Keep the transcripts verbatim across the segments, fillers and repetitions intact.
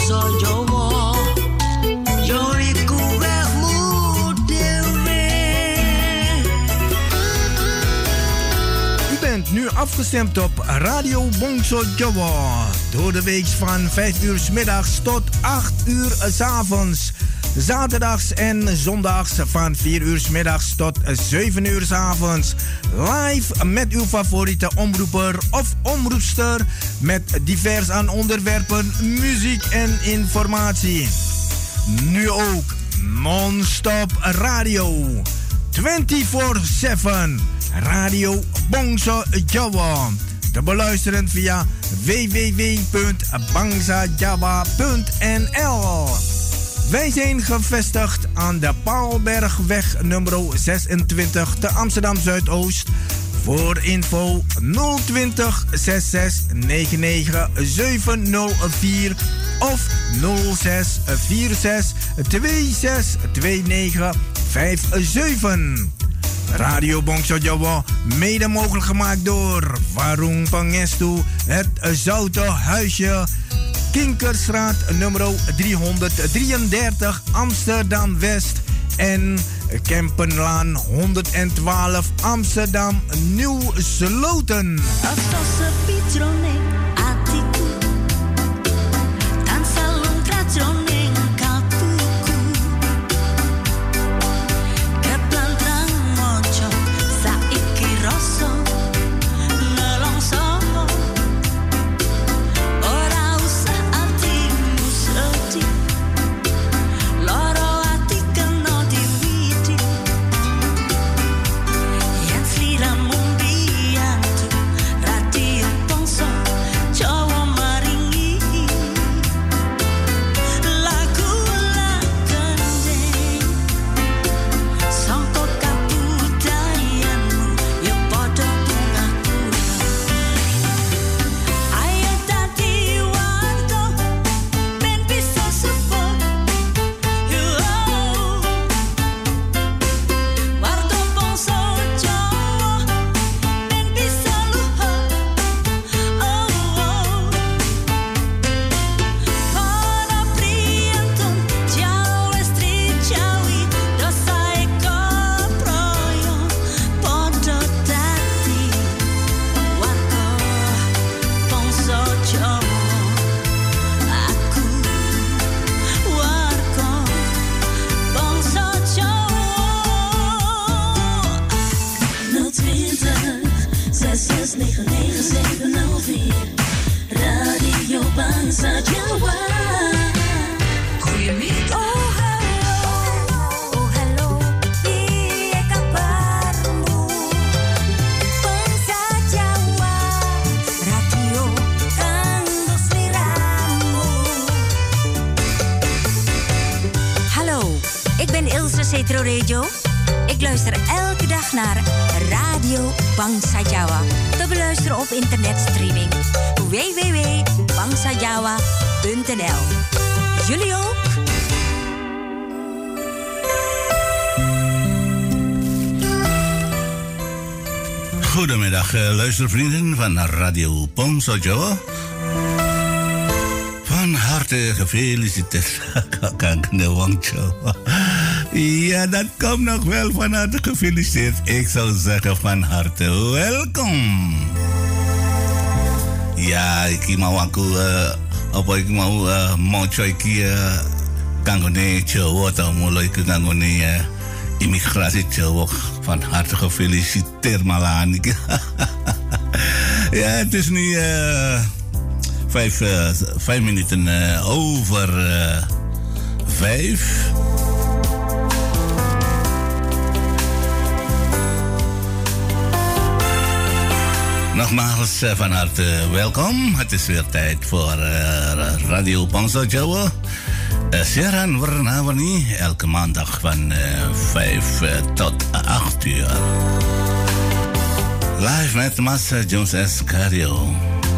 bangsa Jawa. Yo iku wekmu dhewe. U bent nu afgestemd op Radio Bongso Jawa. Door de week van vijf uur 's middags tot acht uur 's avonds. Zaterdags en zondags van vier uur 's middags tot zeven uur 's avonds. Live met uw favoriete omroeper of omroepster. Met divers aan onderwerpen, muziek en informatie. Nu ook non-stop radio. vierentwintig zeven. Radio Bongso Jawa. Te beluisteren via w w w punt bangsa jawa punt n l. Wij zijn gevestigd aan de Paalbergweg nummer zesentwintig te Amsterdam Zuidoost. Voor info nul twintig zesenzestig negenennegentig zevenhonderdvier of nul zes vier zes twee zes twee negen vijf zeven. Radio Bongso Jawa, mede mogelijk gemaakt door Warung Pangestu, het Zoute Huisje, Kinkerstraat nummer driehonderddrieëndertig Amsterdam West en Kempenlaan honderdtwaalf Amsterdam Nieuw Sloten. Ik luister elke dag naar Radio Bangsa Jawa. Te beluisteren op internetstreaming w w w punt bangsa jawa punt n l. Jullie ook? Goedemiddag, luistervrienden van Radio Bongso Jawa. Van harte gefeliciteerd, Kankne Wangcho. Ja, dat komt nog wel van harte gefeliciteerd. Ik zou zeggen van harte welkom. Ja, ik mau aku uh, apa ik mau uh, moco iki uh, kanggone Jawa ta mulai ke kanggone uh, imigrasi Jawa. Van harte gefeliciteerd malahan iki. Ja, het is nu uh, vijf, uh, vijf minuten uh, over uh, vijf. Nogmaals uh, van harte welkom. Het is weer tijd voor uh, Radio Bongso Jawa. Uh, siaran warna-warni elke maandag van uh, vijf uh, tot acht uur. Live met Mas Jones S. Cario.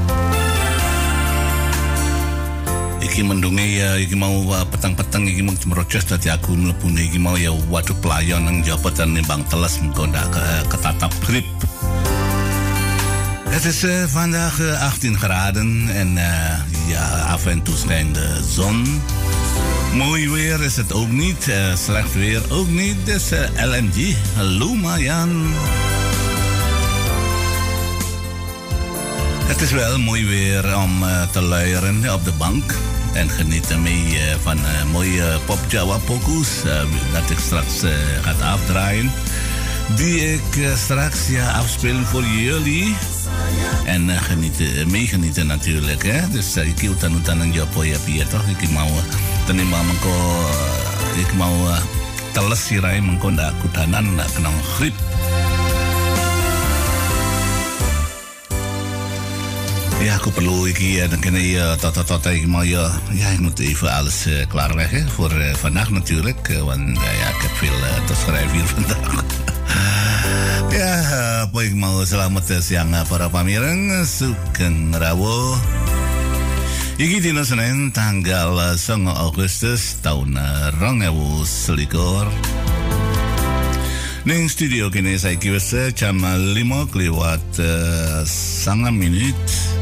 Iki mendungi ya, iki mau uh, petang-petang iki mau merocos dadi aku mlebu iki mau ya waduh pelayan nang jabatan nimbang teles mengko ndak ketatap grip. Het Het is uh, vandaag uh, achttien graden en uh, ja, af en toe schijnt de zon. Mooi weer is het ook niet, uh, slecht weer ook niet. Dus uh, L M G, hallo Marjan. Het is wel mooi weer om uh, te luieren op de bank. En genieten mee uh, van uh, mooie pop Java pokus uh, dat ik straks uh, ga afdraaien. Die ik uh, straks ja, afspelen voor jullie. En uh, genieten, meegenieten natuurlijk. Hè? Dus uh, ik wil dan utan jopo ya pia toch. Ik mau tani mau mengko ik mau uh, teles sirai mengko ndak kudanan ndak kena grip. Ja, aku perlu iki dan kena ya tot-tot ik mau ja, ja ik moet even alles uh, klaarleggen voor uh, vandaag natuurlijk, uh, want uh, ja, ik heb veel uh, te schrijven hier vandaag. Ya, apa yang mau selamat siang para pamireng Sugeng Rawo. Iki dina Senin tanggal sembilan Agustus tahun dua ribu selikur. Ning studio kini saiki wis jam lima lewat sanga menit.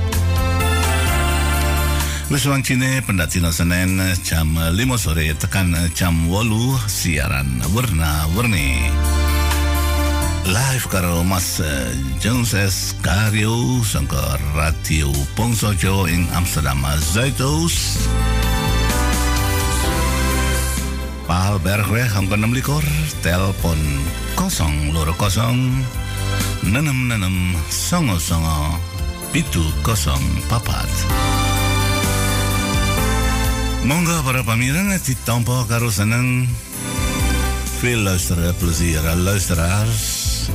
Wis wancine pendat dina Senin jam lima sore tekan jam wolu siaran warna-warni. Live karo Mas uh, Jones Karyo sangka Radio Pongsojo ing Amsterdam Zuidoost. Paal Bergweg angka enam likur, telepon kosong loro kosong nenem nenem songo songo pitu kosong papat. Monggo para pamireng ditampa karo seneng. Veel luisteren, plezier luisteraars.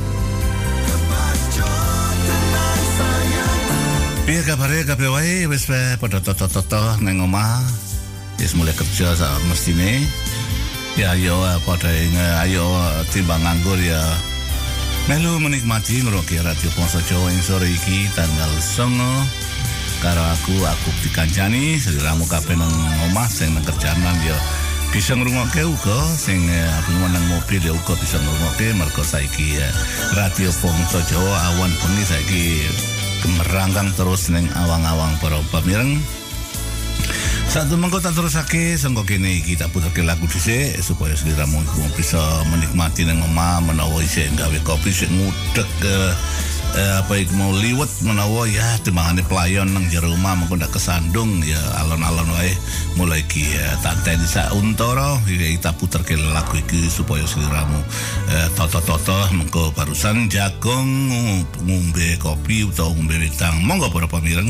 Piye kabare kabeh wae wis padha toto-toto nang omah. Wis mulai kerja sak mestine. Ya yo padha ayo timbang nganggur ya. Melu menikmati ngrungokne Radio Pongsojo ing sore iki tanggal songo. Karo aku aku dikancani sliramu kabeh nang omah sing nang kerjaan ya bisa ngrungokke uga sing aku nang mobil ya uga bisa ngrungokke mergo saiki Radio Pongsojo awan bengi saiki merangkang terus neng awang-awang para pamireng. Satu mengko tak terusake sangko kene iki tak puterke lagu dhisik supaya sliramu iku bisa menikmati nang omah menawa isih gawe kopi sing ngudeg uh, uh, apa iku mau liwet menawa ya timangane pelayon nang jero omah mengko ndak kesandung ya alon-alon wae mulai iki uh, tanteni sak untara iki tak puterke lagu iki supaya sliramu uh, toto-toto mengko barusan jagung ngombe kopi utawa ngombe wetang. Monggo para pamireng.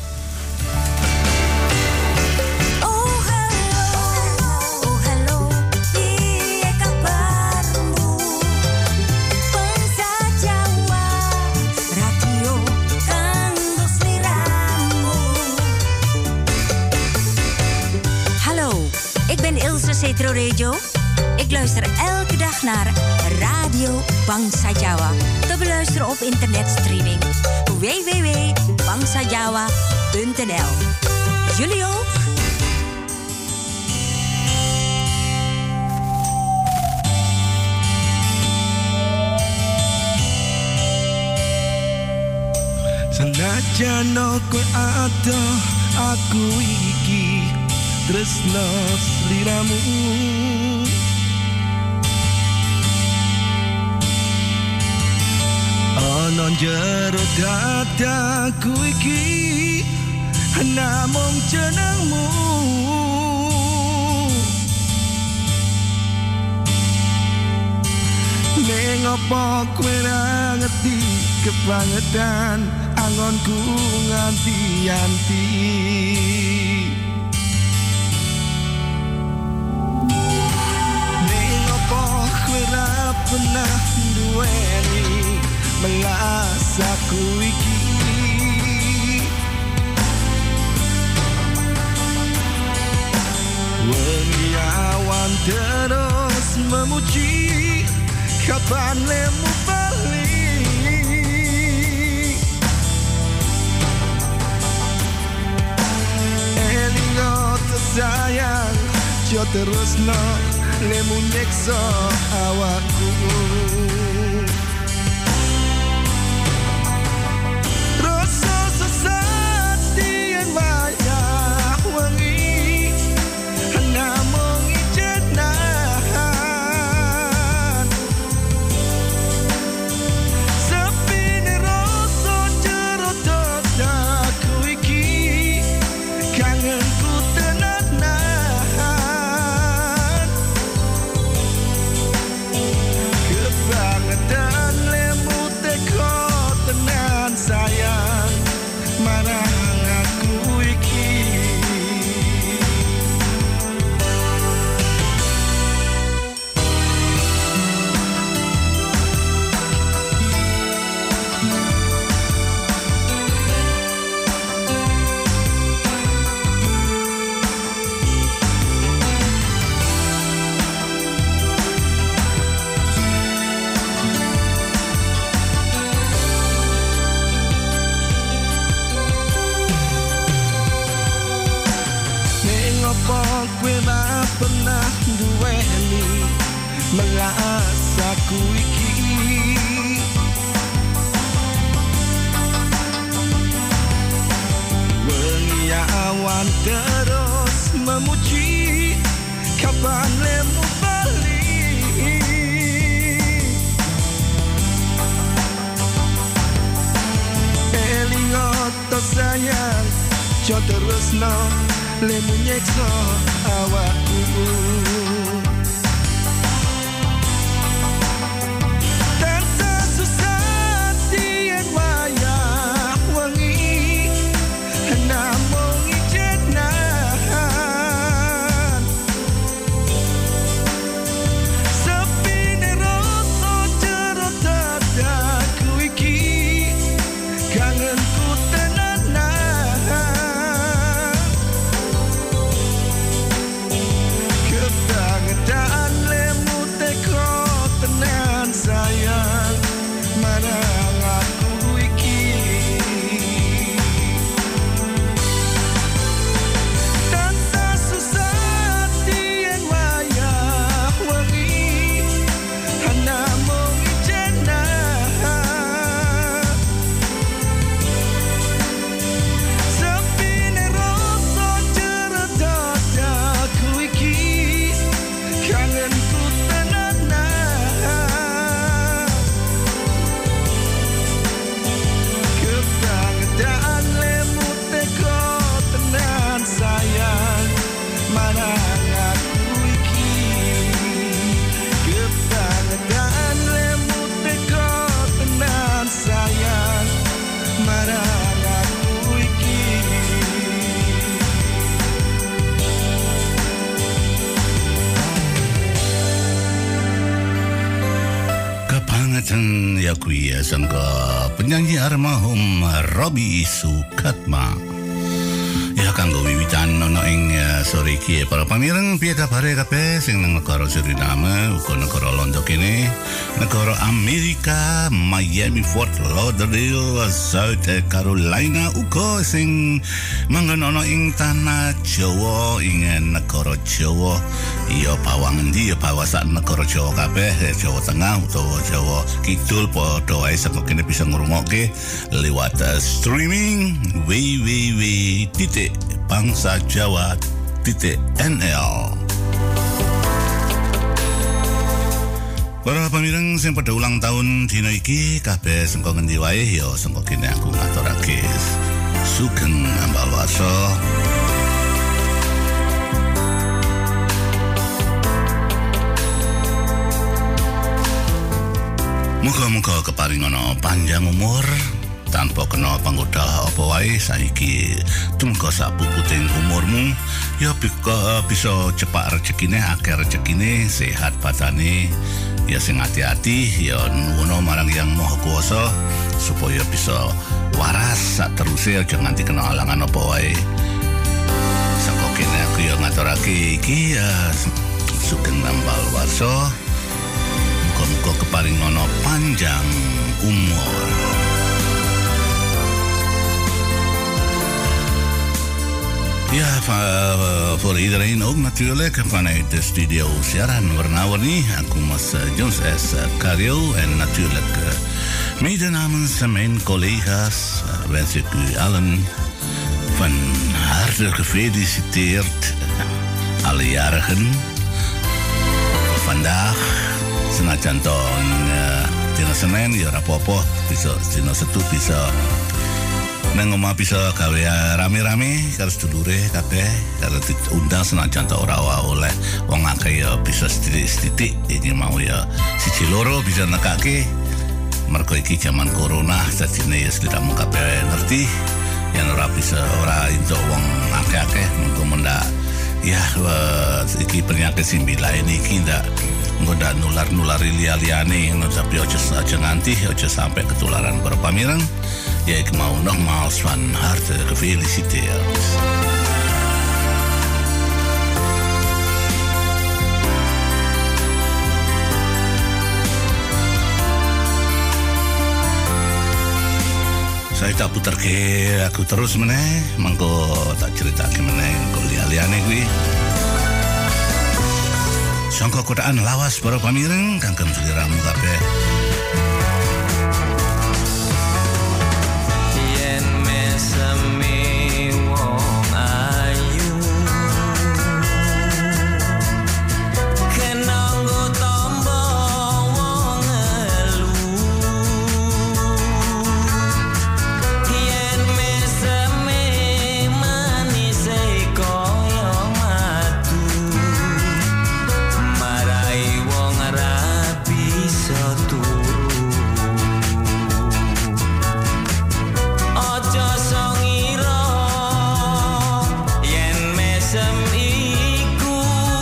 Setro Rejo. Ik luister elke dag naar Radio Bangsa Jawa. Te beluisteren op internetstreaming w w w punt bangsa jawa punt n l. Jullie ook? Senajan kowe ada aku iki tresno sliramu ana jero dadaku iki namung jenengmu ning apa kowe ra ngerti kebangetan angonku nganti-anti. Pernah duweni melas aku iki wengi awan terus memuji kapan lemu balik elingo tersayang jo terus no lemu nyekso awakku terus kowe ora pernah duweni melasaku iki. Wengi awan terus memuji, kapan lemu balik. Elingoto sayang, jo terus no lemu nyekso awakku. Tansah susah tien wayah wengi, namung ijenan. Sepine rasa jero dadaku iki, kangenku tenanan. Kebangetan lemu teko tenan sayang, marang aku iki. Tansah susah tien wayah wengi, namung ijenan. Sepine rasa jero dadaku iki, kangenku tenanan. Kebangetan lemu teko tenan sayang, marang aku iki. Kebangetan lemu teko tenan sayang, marang aku iki. Kebangetan ya kui ya sangka penyanyi almarhum Robi Sukatma. Ya kanggo wiwitan ono ing eh, sore iki para pamireng piye kabare kabeh sing nang negara Suriname uga negara Londo kene, negara Amerika, Miami, Fort Lauderdale, South Carolina uga sing manggon ono ing tanah Jawa ing negara Jawa. Iya bawang endi ya bawa sak negara Jawa kabeh, Jawa Tengah utawa Jawa Kidul padha wae saka kene bisa ngrungokke lewat uh, streaming w w w titik bangsa jawa titik n l. Para pamireng sing padha ulang tahun dina iki kabeh sengko ngendi wae ya sengko kene aku ngaturake sugeng ambal waso. Muga-muga keparingono panjang umur tanpa kena panggoda apa wae saiki tumeka sapuputing umurmu ya bisa, bisa cepak rezekine, akeh rezekine, sehat badane ya sing hati-hati ya nuwun marang Yang Maha Kuwasa supaya bisa waras sak teruse aja nganti kena halangan apa wae. Saka kene aku ya ngaturake iki ya sugeng ambal waso. Muga-muga keparingono panjang umur. Ja, voor iedereen ook natuurlijk vanuit de studio siaran warna-warni. Aku Mas Jones S. Karyo en natuurlijk uh, mede namens mijn collega's uh, wens ik u allen van harte gefeliciteerd, uh, alle jarigen. Vandaag senajan to uh, dina Senin ya rapopo bisa dina Setu bisa nang omah bisa gawe rame-rame karo sedulure kabeh karo diundang senajan to ora oleh wong akeh ya bisa sithik-sithik iki mau ya siji loro bisa nekake mergo iki jaman corona dadine ya sliramu kabeh ngerti yen ora bisa ora entuk wong akeh-akeh mengko mendak ya iki penyakit simbila ini iki ndak nggak nular-nular liya-liyane ngono tapi aja aja nganti aja sampai ketularan para pamireng ya ik mau nogmaals van harte gefeliciteerd. Saya tak putar ke aku terus meneh mangko tak cerita ke meneh kok liya-liyane kuwi. Sangka kotaan lawas para pamireng kangkem seliramu kabeh. Yen mesemi wong ayu kenanggo tombo wong elu yen mesemi manise koyo madu marai wong ra bisa turu aja songira yen mesem iku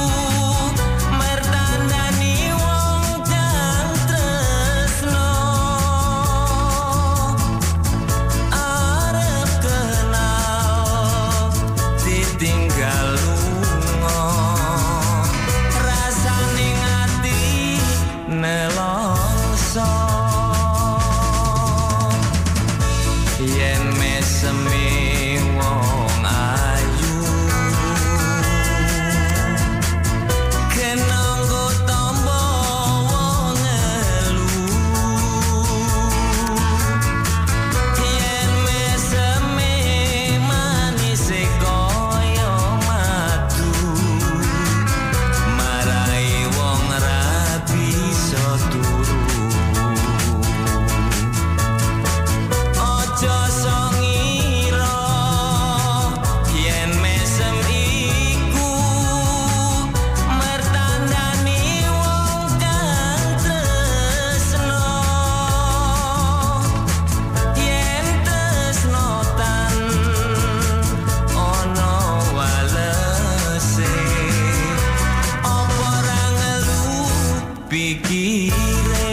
mertandani wong kang tresno arep kenal ditinggal lunga rasane ati nelongso yen mesemi wong ayu kenanggo tombo wong elu yen mesemi manise koyo madu marai wong ra bisa turu aja songira yen mesem iku mertandani wong kang tresno yen tresnotan ono walese apa ra ngelu pikire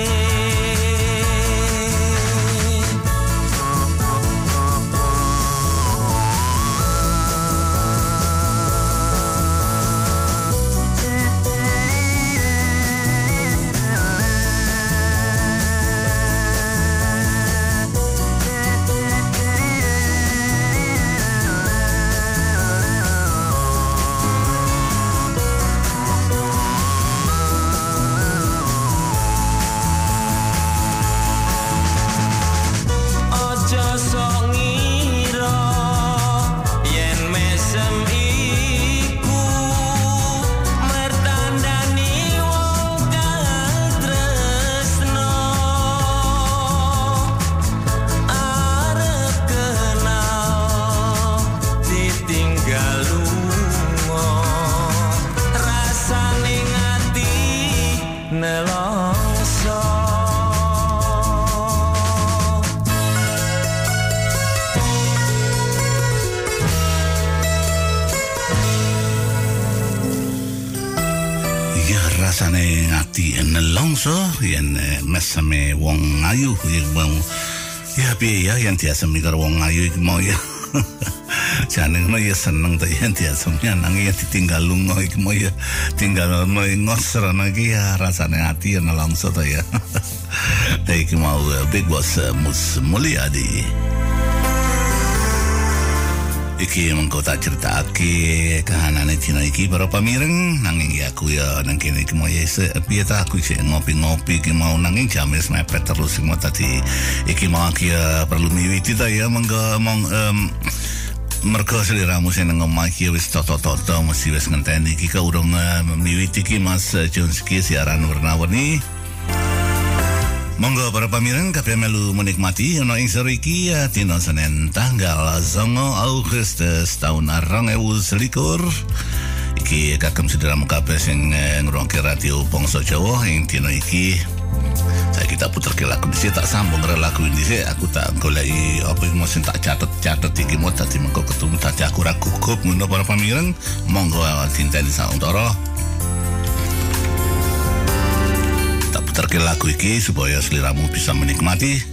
aja songira yen mesem iku mertandani wong kang tresno arep kenal ditinggal lunga rasane ati nelongso Ya rasane ngati nelongso yen eh, meseme wong ayu ya mau ya piye ya yen diasemi karo wong ayu iki mau ya. Jane ngono ya seneng ta yen diasemi nanging ya ditinggal lunga iki mau ya tinggal ono ngosrono iki ya rasane ati ya nelongso ta ya. Iki mau eh, Big Boss eh, Mus Mulyadi. Iki mengko tak critakake kahanane dina iki para pamireng nanging ya aku ya nang kene iki mau ya piye ta aku sik ngopi-ngopi iki mau nanging jam wis mepet terus mau tadi iki mau aku ya perlu miwiti ta ya mengko mong em, mergo seliramu sing nang omah iki wis toto-toto mesti wis ngenteni iki kaurung uh, miwiti iki Mas uh, Jonski siaran warna-warni. Monggo para pamireng kabeh melu menikmati ana ing sore iki ya dina Senin tanggal songo Agustus tahun dua ribu selikur. Iki kagem sedherek kabeh sing ngrungokne radio Bangsa Jawa ing dina iki. Saya kita puterke lagu dhisik tak sambung karo lagu dhisik aku tak goleki apa iki mesti tak catet-catet iki mau dadi mengko ketemu dadi aku ra gugup ngono para pamireng. Monggo dinteni sauntara. Putarke lagu iki supaya seliramu bisa menikmati.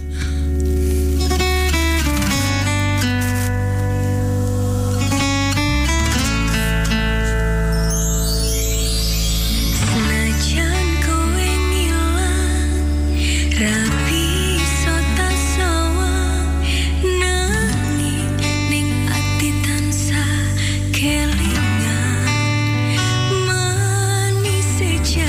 Senajan kowe ngilang rapi sota sawang nanging ning ati tansah kelingan manis seja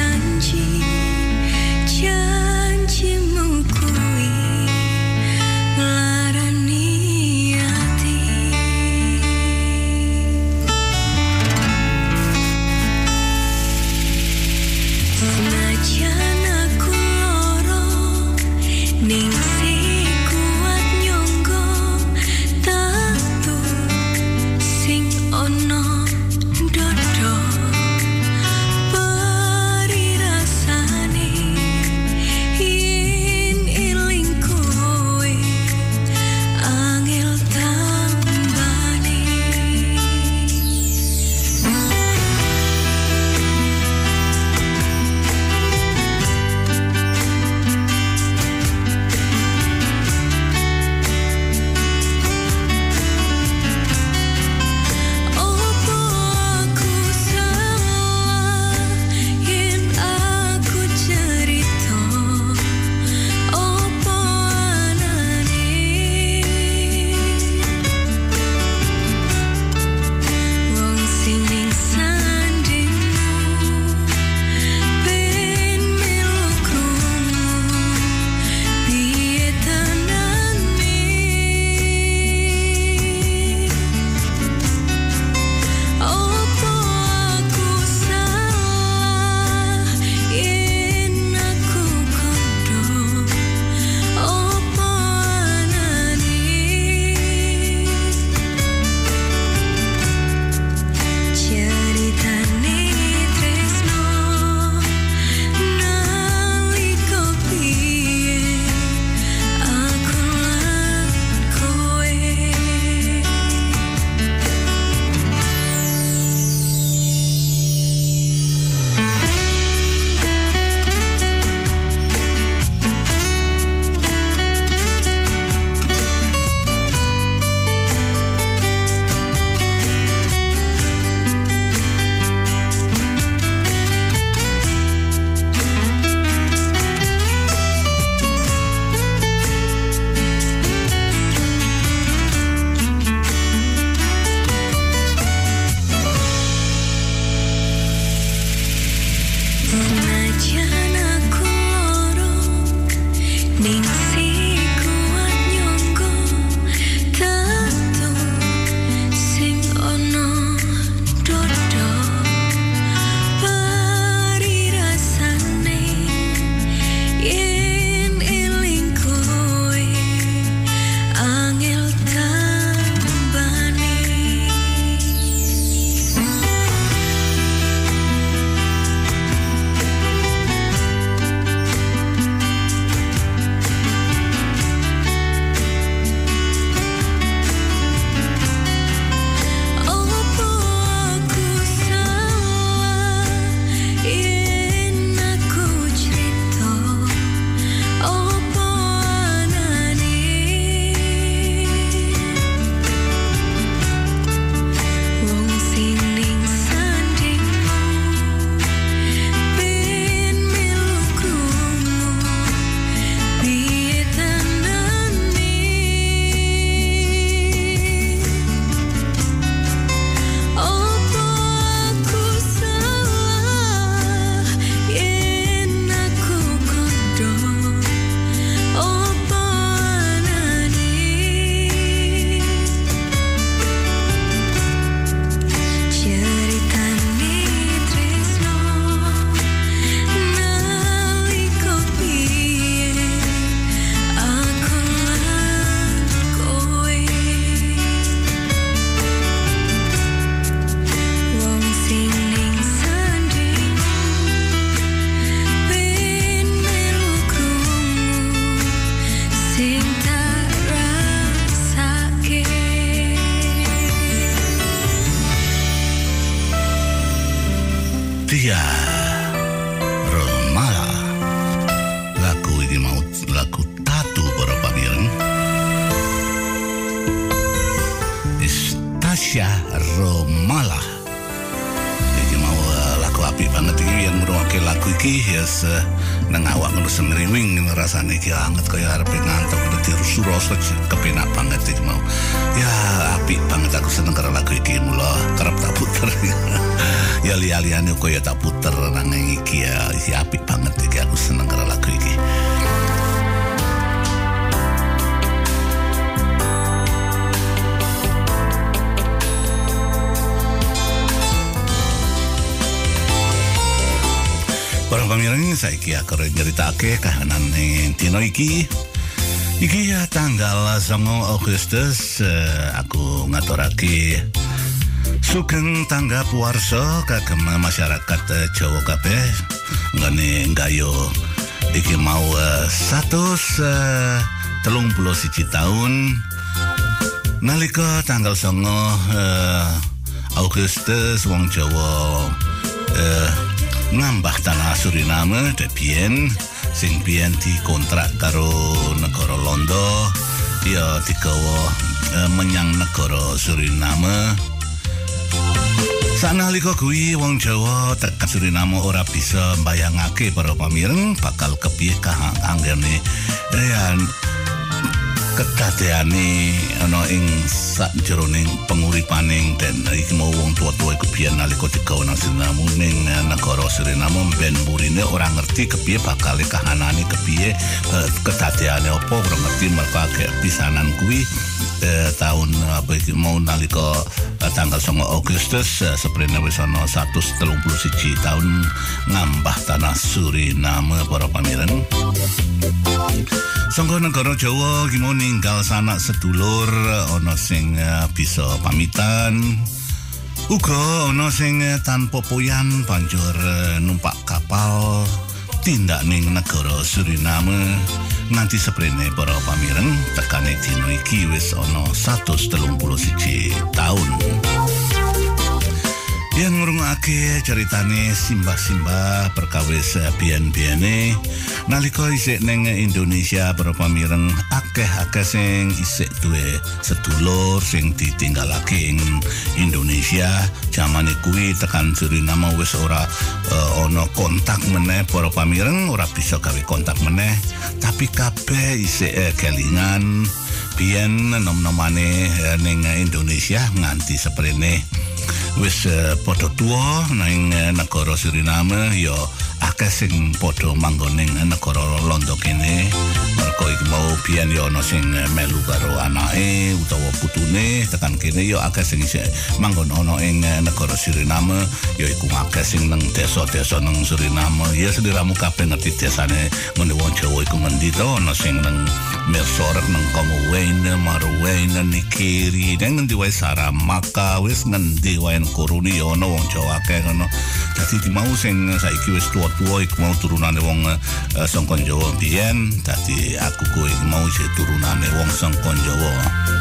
Dia Romala lagu ini mau lagu tatu para pamireng Stasia Romala iki mau uh, lagu apik banget iki yang ngrungokne lagu iki yes uh, nang awak ngono semriwing rasane iki anget kaya arep ngantuk dirusu-rusu kepenak banget iki mau ya apik banget aku seneng karo lagu iki mula kerep tak puter ya li-liane kaya tak puter nang iki ya iki apik banget iki aku seneng karo lagu iki. Para pamireng saiki aku nyeritake kahanane dina iki. Iki ya tanggal songo Agustus uh, aku ngaturake sugeng tanggap warsa kagem masyarakat uh, Jawa kabeh ngene nggayo iki mau uh, satus telung puluh siji taun nalika tanggal songo uh, Agustus wong Jawa uh, ngambah tanah Suriname debien sing biyen dikontrak karo negara Londo ya digawa e, menyang negara Suriname. Sanalika kuwi wong Jawa tekan Suriname ora bisa mbayangake para pamireng bakal kepiye kahanggane ya kedadeane ana ing sakjeroning penguripaning den iki mau wong tua-tua iku biyen nalika digawa nang Suriname ning negara Suriname ben murine ora ngerti kepiye bakal kahanane kepiye kedadeane apa ora ngerti mergo agek pisanan kuwi eh, tahun apa iki mau nalika eh, tanggal songo Agustus eh, seprene wis ana satus telung puluh siji tahun ngambah tanah Suriname para pamireng. Sangka negara Jawa iki mau ninggal sanak sedulur ana sing uh, bisa pamitan uga ana sing uh, tanpa poyan banjur uh, numpak kapal tindak ning negara Suriname nganti seprene para pamireng tekane dina iki wis ana satus telung puluh siji taun. Yang ngrungokake ceritane simbah-simbah perkawis biyen-biyene nalika isih ning Indonesia para pamireng akeh-akeh sing isih duwe sedulur sing ditinggalake ing Indonesia jamane kuwi tekan Suriname wis ora uh, ana kontak meneh para pamireng ora bisa gawe kontak meneh tapi kabeh isih uh, kelingan biyen nom-nomane uh, ning Indonesia nganti seprene wis uh, padha tuwa nang uh, negara Suriname ya akeh sing padha manggon ning negara Londo kene mergo iki mau biyen ya ana sing uh, melu karo anake utawa putune tekan kene ya akeh sing isih manggon ana ing uh, negara Suriname ya iku akeh sing nang desa-desa nang Suriname ya sliramu kabeh ngerti desane ngene wong Jawa iku ngendi to ana sing nang Mersorek nang Komowene Marwene Nikiri nang ngendi wae Saramaka wis ngendi wae koruni ya ana wong Jawa akeh ngono. Dadi mau sing saiki wis tuwa-tuwa iku mau turunane wong uh, saka Jawa biyen. Dadi aku kuwi mau isih turunane wong saka Jawa.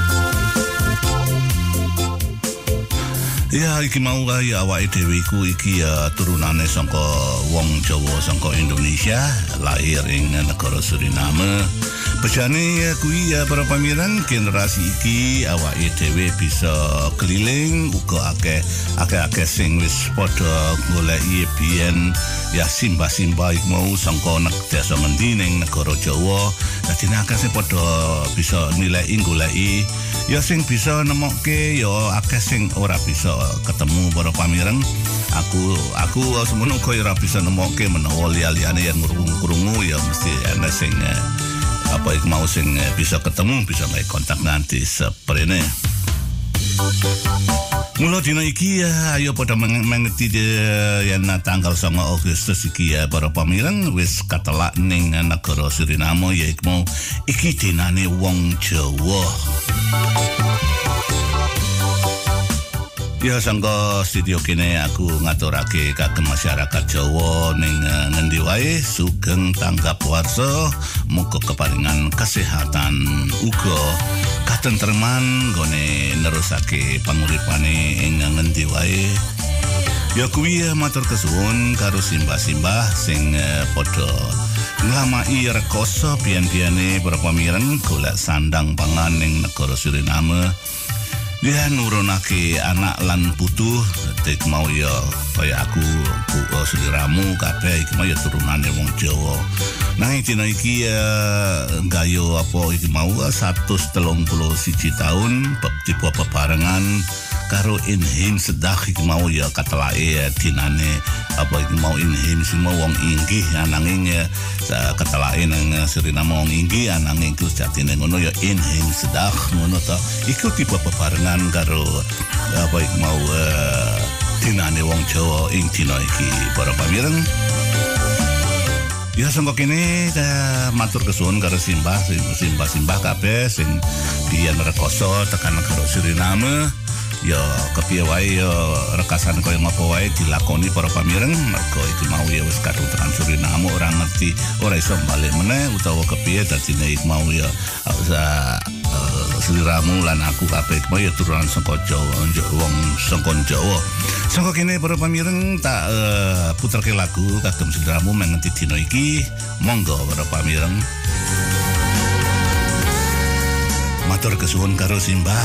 Ya iki mau ya awake dhewe iku iki ya turunane saka wong Jawa saka Indonesia lahir ing negara Suriname. Bejane ya kuwi ya para pamireng generasi iki awake dhewe bisa keliling uga akeh akeh-akeh sing wis padha goleki biyen ya simbah-simbah iku mau saka nek desa ngendi ning negara Jawa. Dadi akeh sing padha bisa nilai goleki ya sing bisa nemokke ya akeh sing ora bisa ketemu para pamireng. Aku aku semono kaya ora bisa nemokke menawa liya-liyane yang krungu-krungu ya mesti ana sing apa iku mau sing bisa ketemu bisa gawe kontak nanti seprene. Mula dina iki ya ayo padha mengeti yen tanggal songo Agustus iki ya para pamireng wis katelak ning negara Suriname ya iku mau iki dinane wong Jawa. Ya sangka studio kene aku ngaturake kagem masyarakat Jawa ning ngendi wae sugeng tanggap warsa muga keparingan kesehatan uga katentreman gone nerusake panguripane ing ngendi wae. Ya kuwi matur kesuwun karo simbah-simbah sing uh, padha nglamai rekoso pian-piane para pamireng golek sandang pangan ning negara Suriname. Dia nurunake anak lan putu tek mau ya kaya aku uh, seliramu kabeh iki mau ya turunane wong Jawa. Nang dina iki uh, gayo apa iki mau seratus telung puluh siji tahun tipe peparengan karo inhim sedah iki mau ya katelake dinane apa iki mau inhim sing mau wong inggih ananging ya katelake nang Suriname wong inggih ananging iku jatine ngono ya inhim sedah ngono ta iku tipe peparengan karo apa iki mau uh, dinane wong Jawa ing dina iki para pamireng. Ya sangka kene uh, matur kesuwun karo simbah simbah-simbah kabeh sing biyen rekoso tekan negara Suriname. Ya kepiye wae ya rekasan kaya ngapa wae dilakoni para pamireng mergo iki mau ya wis kadung tekan Suriname ora ngerti ora iso balik meneh utawa kepiye dadine iki mau ya uh, seliramu lan aku kabeh mau ya turunan saka Jawa wong saka Jawa. Sangka kene para pamireng tak uh, puterke lagu kagem seliramu mengenti dina iki. Monggo para pamireng. Matur kesuwun karo simbah.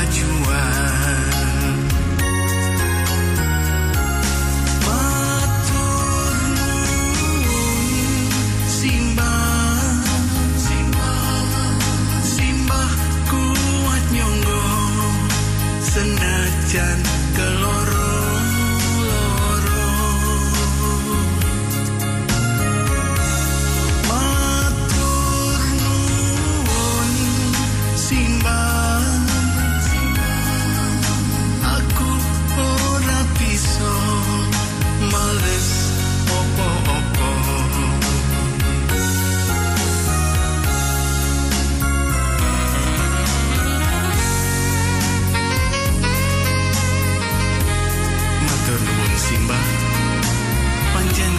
Kemajuan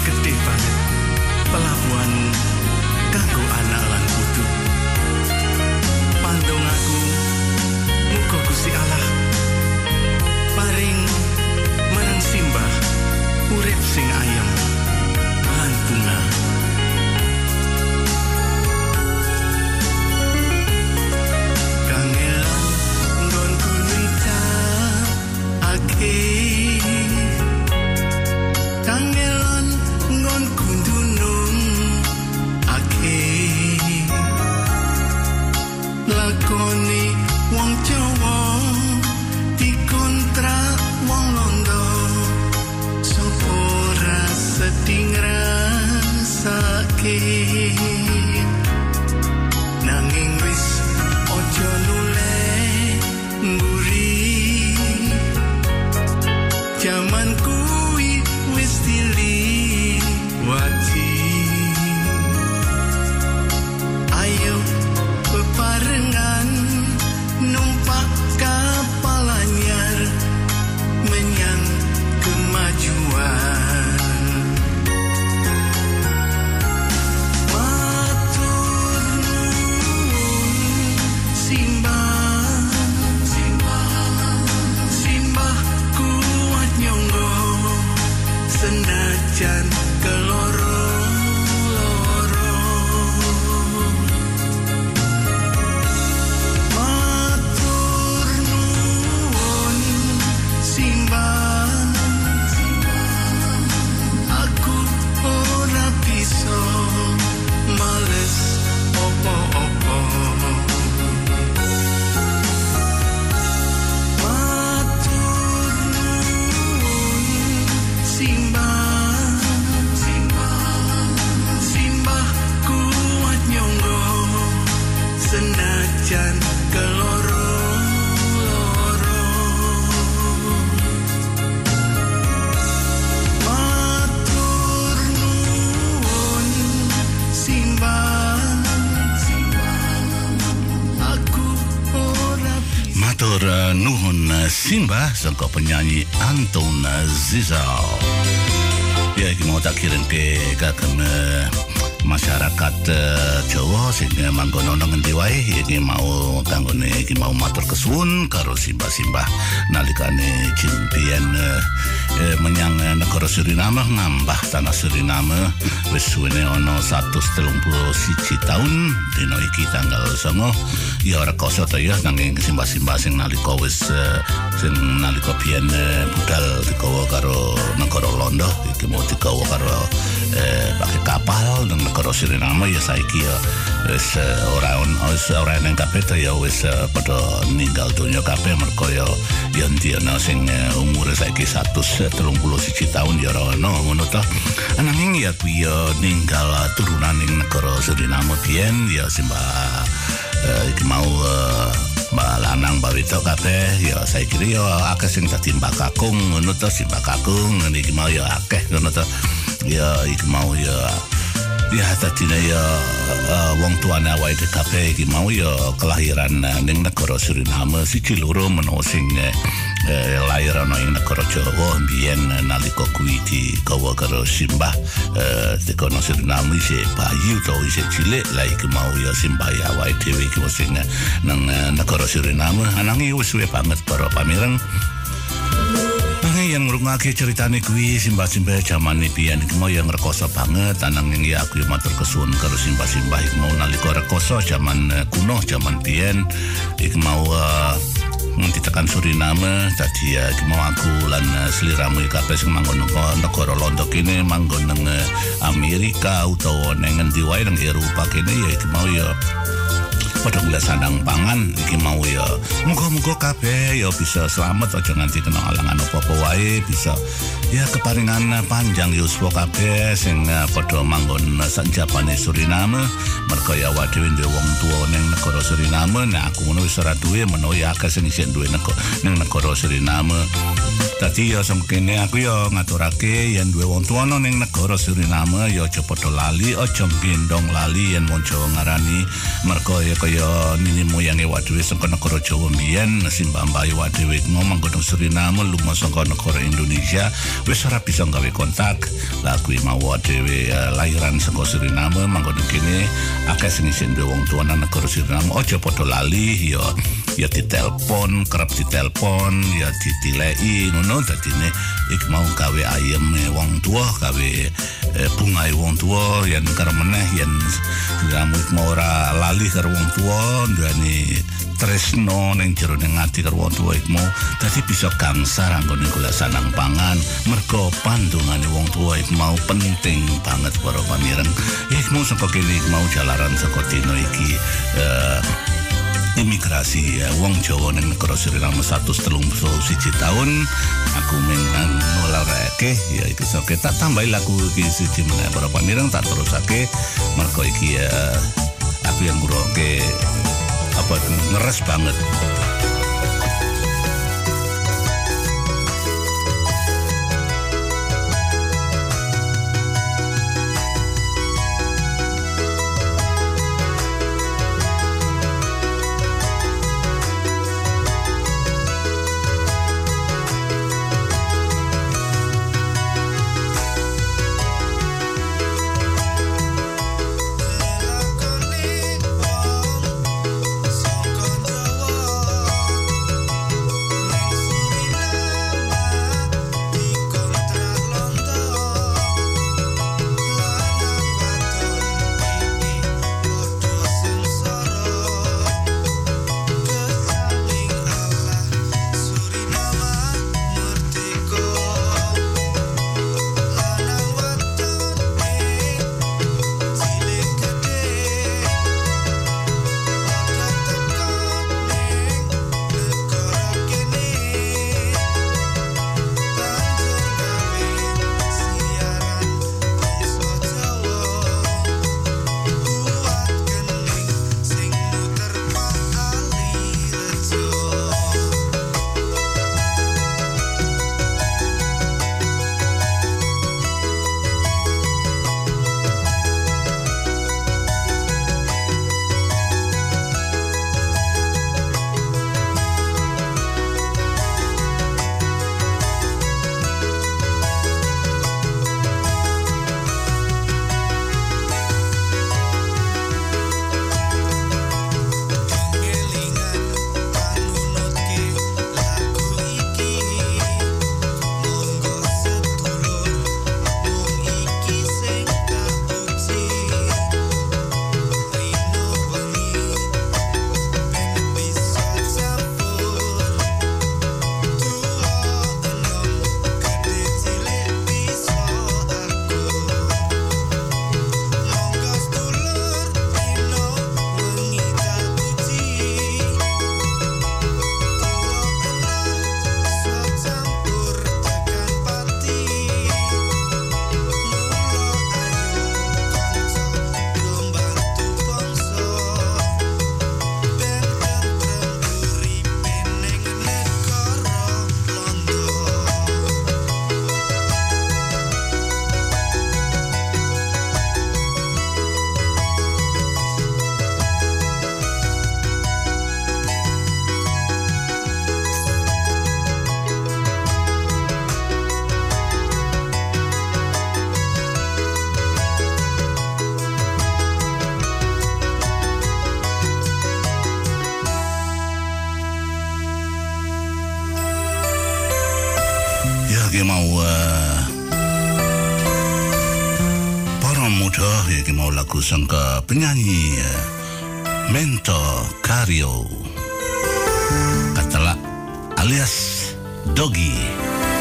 gede banget pelabuhan kanggo anak lan putu. Pandong aku muga Gusti Allah paring marang simbah urip sing ayem lan bunga. Kangelan nggonku nicakake, kangelan nggonku dunung ake, lakoni wong Jawa dikontrak wong Londo, sapa ora sedih ngrasake, nanging wis ojo nuleh mburi, jaman kuwi wis diliwati. Ayo bebarengan numpak kapal anyar menyang kemajuan. Matur nuwun simbah, simbah, simbah kuat nyonggo senajan keloro. Matur nuwun simbah, aku ora bisa males opo-opo. Matur nuwun simbah, simbah kuat nyonggo senajan keloro. Matur nuwun simbah, aku ora bisa. Matur uh, nuhun uh, simbah sangka penyanyi Anton Zizal. Ya iki mau tak kirim ke kagem uh, masyarakat uh, Jawa sing uh, manggon ana ngendi wae iki mau kanggone iki mau matur kesuwun karo simbah-simbah nalikane jimpian uh, uh, menyang uh, negara Suriname ngambah tanah Suriname wis suwene ana seratus telung puluh siji taun dina iki tanggal songo. Ya ora koso ta ya nanging simbah-simbah sing nalika wis uh, sing nalika biyen uh, budal digawa karo negara Londo iki mau digawa karo eh, pakai kapal nang negara Suriname ya saiki ya wis uh, ora wis ora nang kabeh ta ya wis uh, padha ninggal donya kabeh mergo ya ya ndiyana sing uh, umure saiki seratus telung puluh siji taun ya ora ono ngono ta. Nanging ya kuwi ya ninggal turunan ning negara Suriname biyen ya simbah Uh, iki mau uh, mbak lanang mbak wedok kabeh ya saiki ya akeh sing dadi mbak kakung ngono to, si mbak kakung iki mau ya akeh ngono to. Ya iki mau ya ya dadine ya uh, wong tuane awake kabeh iki mau ya kelahiran uh, ning negara Suriname siji loro menawa sing uh, eh, lahir ana ing negara Jawa mbiyen nalika kuwi digawa karo simbah eh, tekono Suriname isih bayi utawa isih cilik lah iki mau ya simbah ya awake dhewe iki sing nang negara Suriname ananging wis suwe banget para pamireng. Yang ngrungake ceritane kuwi simbah-simbah jaman biyen iki mau yang rekoso banget ananging ya aku matur kesuwun karo simbah-simbah iki mau nalika rekoso jaman kuno jaman biyen iki mau uh, ditekan Suriname dadi ya iki mau aku lan sliramu kabeh sing manggon negara Londo kene manggon nang Amerika utawa nang endi wae nang Eropa kene ya iki mau ya padha golek sandang pangan iki mau ya muga-muga kabeh ya bisa selamat aja nganti kena halangan apa-apa wae bisa ya keparingan panjang yuswa kabeh sing padha manggon sanjapane Suriname merga ya awake dhewe duwe wong tuwa ning negara Suriname nek aku ngono wis ora duwe menawa ya akeh sing isih duwe ning negara Suriname. Dadi ya sengkene aku ya ngaturake yen duwe wong tuwa ning negara Suriname ya aja padha lali aja gendong lali yen wong Jawa ngarani merga ya kaya kaya nini moyange awak dhewe saka negara Jawa mbiyen simbah mbae awak dhewe mau manggon Suriname lunga saka negara Indonesia wis ora bisa gawe kontak. Lah kuwi mau awak dhewe uh, lahiran saka Suriname manggon kene akeh sing isih duwe wong tuwa nang negara Suriname aja padha lali ya ya ditelepon, kerep ditelepon, ya ditileki ngono dadine ik mau gawe ayeme wong tuwa, gawe eh, bungae wong tuwa yen karo meneh yen kamu mau ora lali karo wong tuwa duweni tresno ning jero ning ati karo wong tuwa ik mau dadi bisa gangsar anggone golek sanang pangan mergo pandungane wong tuwa ik mau penting banget para pamireng. Ik mau saka kene ik mau jalaran saka dina iki eh, imigrasi ya, wong Jawa ning negara Suriname seratus tiga puluh satu tahun aku menang ngolarake ya iki sok tak tambahi lagu iki siji meneh para pamireng tak terusake mergo iki ya aku yang ngrungokne apa ngeres banget. Dia mau uh, para muda dia mau lagu sangka penyanyi uh, Mento Cario katalah alias Doggy.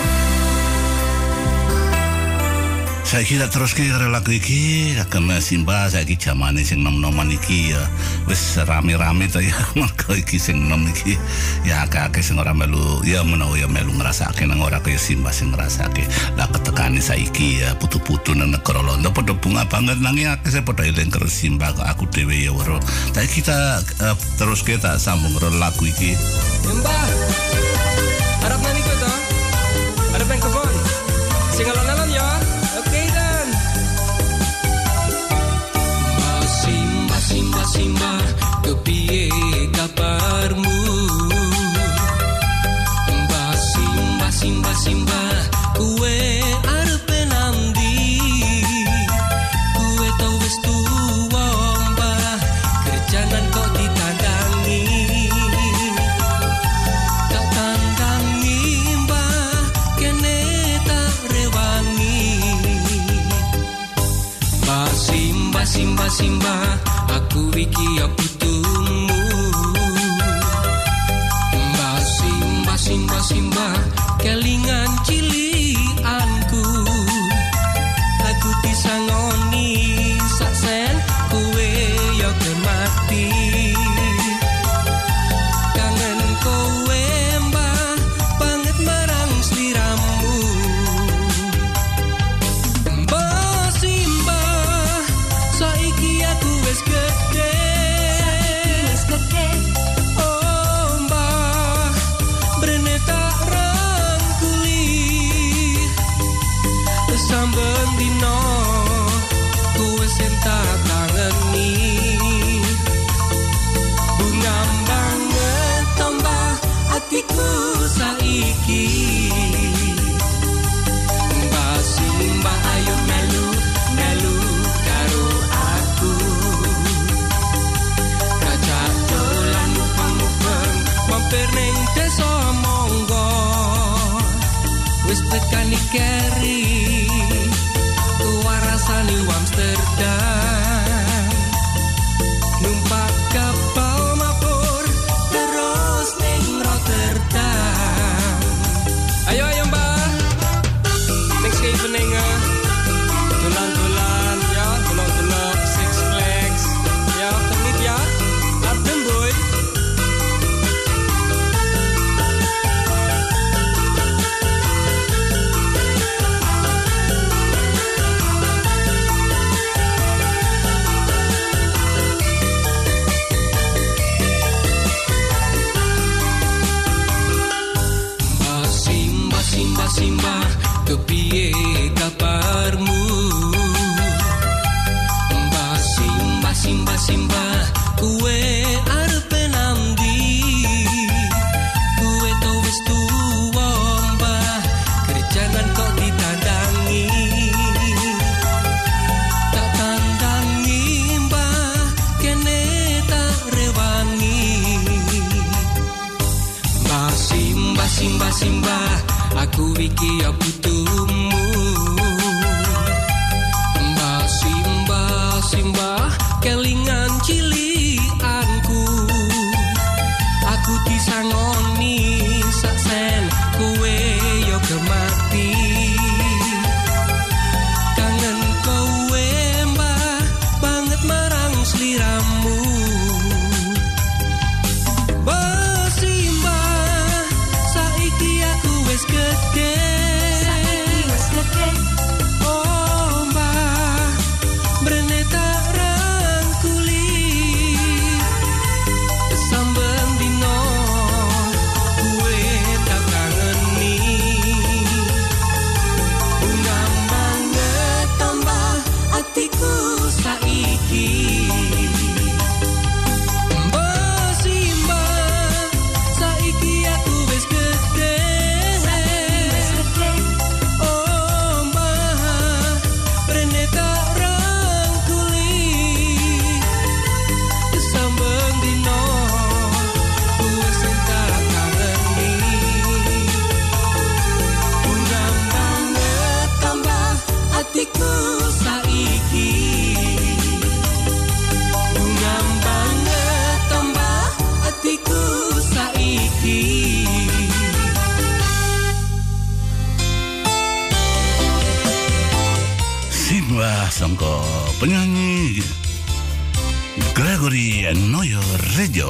Saya kira terus ke lagu iki akan simba saya ki jamane sing nom-noman iki ya wis rame-rame to ya mergo iki sing nom iki ya akeh-akeh sing ora melu ya menawa ya melu ngrasake nang ora kaya simba sing ngrasake lah ketekane saiki ya putu-putu nang negara Londo padha bunga banget nanging akeh saya padha eling karo simba aku dhewe ya weruh. Tapi kita uh, terus kita sambung karo lagu iki. Mbah. Harap nani ko to. Harap ang kebon. Sing alon-alon ya. Oke dan. Simba simba simba kepiye Simba Simba aku iki ya putumu. Mbah Simba Simba Simba kelingan cilianku. Aku disangoni saksen kowe ya kemati. Kangen kowe mbah banget marang sliramu. Mbah Simba saiki aku wis gede. Oh mbah brene tak rangkuli. Samben dino kowe sing tak kangeni. Bunga banget tambah atiku saiki. Mbah Simba ayo melu melu karo aku. Kajak dolan mupeng-mupeng mampir ning desa monggo. Wis tekan Keri warasani Amsterdam. Numpak kapal mabur terus ning Rotterdam. Ayo ayo mbah next evening uh, dolan-dolan ya, delok-delok Six Flags ya, tenit ya, adem boy. Mbah Simba Simba Simba kepiye kabarmu. Mbah Simba Simba Simba kowe arepe nandi. Kowe to wis tuwa mbah kerjaan kok ditandangi. Tak tandangi mbah kene tak rewangi. Mbah Simba Simba Simba aku iki ya putumu. Mbah Simba Simba kelingan cilianku. Aku disangoni saksen kowe yo kemati. Kangen kowe mbah banget marang sliramu. Mbah Simba saiki aku wis gede. Oh mbah brene tak rangkuli. Samben dino kowe tak kangeni. Bunga banget tambah atiku saiki. Mbah Simba saiki aku wis gede. Oh mbah brene tak rangkuli. Samben dino kowe sing tak kangeni. Bunga banget tambah atiku saiki. Bunga banget tambah atiku saiki. Simba sangka penyanyi Gregory Noyo Rejo.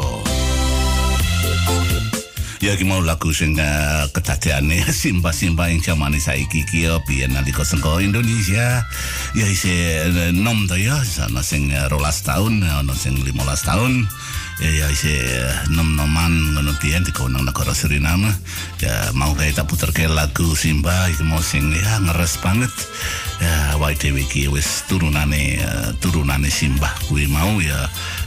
Ya ki mau lagu sing uh, kedadeane Simba-simba ing jamane saiki ki ya biyen nalika sengko Indonesia ya isih uh, nom to ya ana sing uh, rolas tahun ana sing limolas tahun ya ya isih uh, nom-noman ngono biyen dikono nang negara Suriname ya mau kae tak puterke lagu Simba iki mau sing ya ngeres banget ya wae dhewe iki wis turunane uh, turunane Simba kuwi mau ya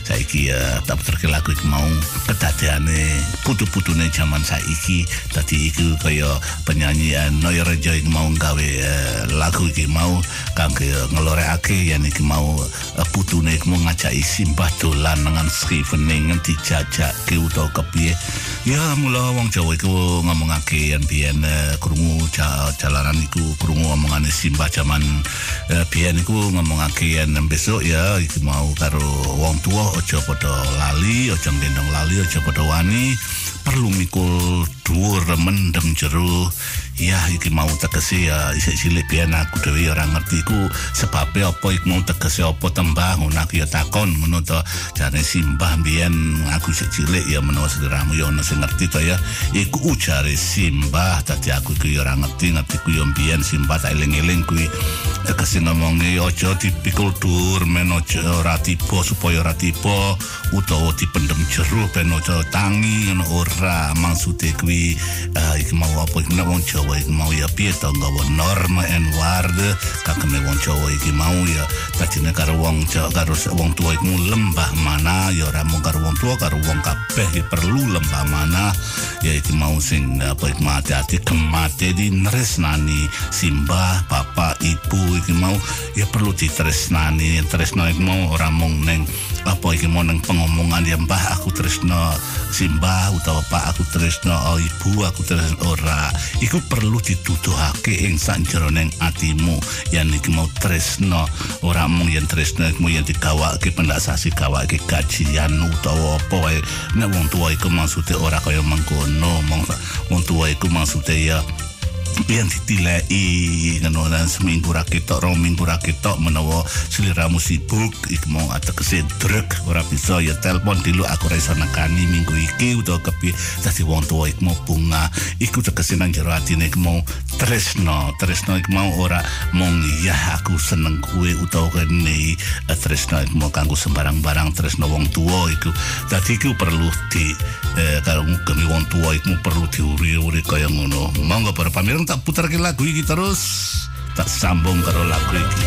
saiki uh, tak puterke lagu iki mau kedadeane putu-putune zaman saiki dadi iku kaya penyanyi uh, Noyo Rejo iki mau gawe uh, lagu iki mau kangge ngelorekake yen iki mau uh, putune iki mau ngajaki Simbah dolan dengan Srivene dijajake utawa kepiye ya mula wong Jawa iku ngomongake yen biyen uh, krungu jalanan iku krungu omongane Simbah zaman uh, biyen iku ngomongake yen besok ya iki mau karo wong tua aja padha lali aja gendong lali aja padha wani perlu mikul dhuwur mendem jero ya iki mau tegese ya isih cilik biyen aku dhewe ora ngerti iku sebabe apa iku mau tegese apa tembang ngono aku ya takon ngono to jane Simbah biyen aku isih cilik ya menawa sederamu ya ono sing ngerti to ya iku ujare Simbah dadi aku iku ya ora ngerti ngerti ku yo biyen Simbah tak eling-eling kuwi tegese ngomongi aja dipikul dhuwur men aja ora tiba supaya ora tiba utawa dipendem jero ben aja tangi ngono ora maksude kuwi uh, iki mau apa iki wong Jawa iki mau ya piye to nggawa norma and waarde kakene wong Jawa iki mau ya dadine karo wong Jawa karo wong tua iku lembah mana ya ora mung karo wong tua karo wong kabeh iki perlu lembah mana ya iki mau sing apa iki mati-ati kemate di nresnani Simbah bapak ibu iki mau ya perlu ditresnani tresno iki mau ora mung neng apa iki mau neng pengomongan ya mbah aku tresno Simbah utawa pak aku tresno oh, ibu aku tresno ora iku perlu dituduhake ing sanjeroning atimu yen iki mau tresno ora mung yen tresno iku yen digawake pendaksasi gawake gajian utawa apa wae nek wong tuwa iku maksude ora kaya mengkono wong tuwa iku maksude ya biyen ditileki ngono lan seminggu ra ketok rong minggu ra ketok menawa sliramu sibuk iku mau ategese drek ora bisa ya telepon dulu aku ra iso nekani minggu iki utawa kepiye dadi wong tuwa iku mau bunga iku tegese nang jero atine iku mau tresno tresno iku mau ora mung ya aku seneng kuwe utawa kene tresno iku mau kanggo sembarang-barang tresno wong tuwa iku dadi iku perlu di eh, karo ngemi wong tuwa iku perlu diuri-uri kaya ngono monggo para pamireng tak putarke lagu iki terus tak sambung karo lagu iki.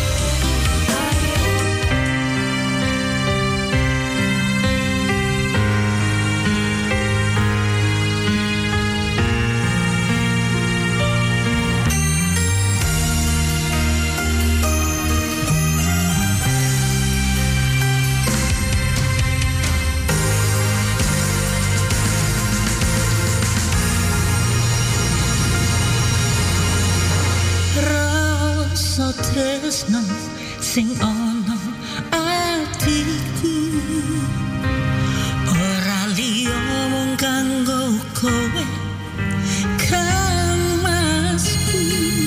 Tresno sing ono atiku ora liya mung kanggo kowe kamasku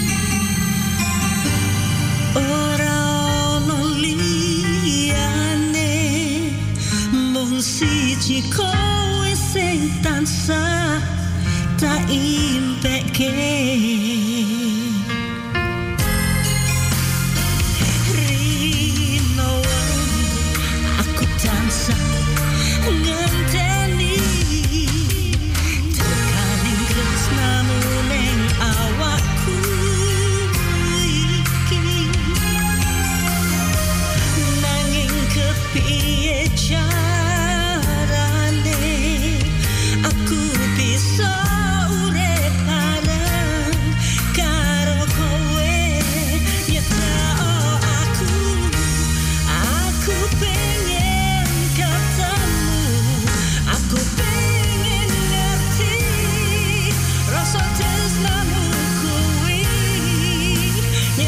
ora ono liyane mung siji kowe sing tansah tak impeke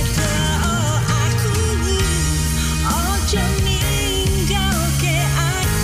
Aku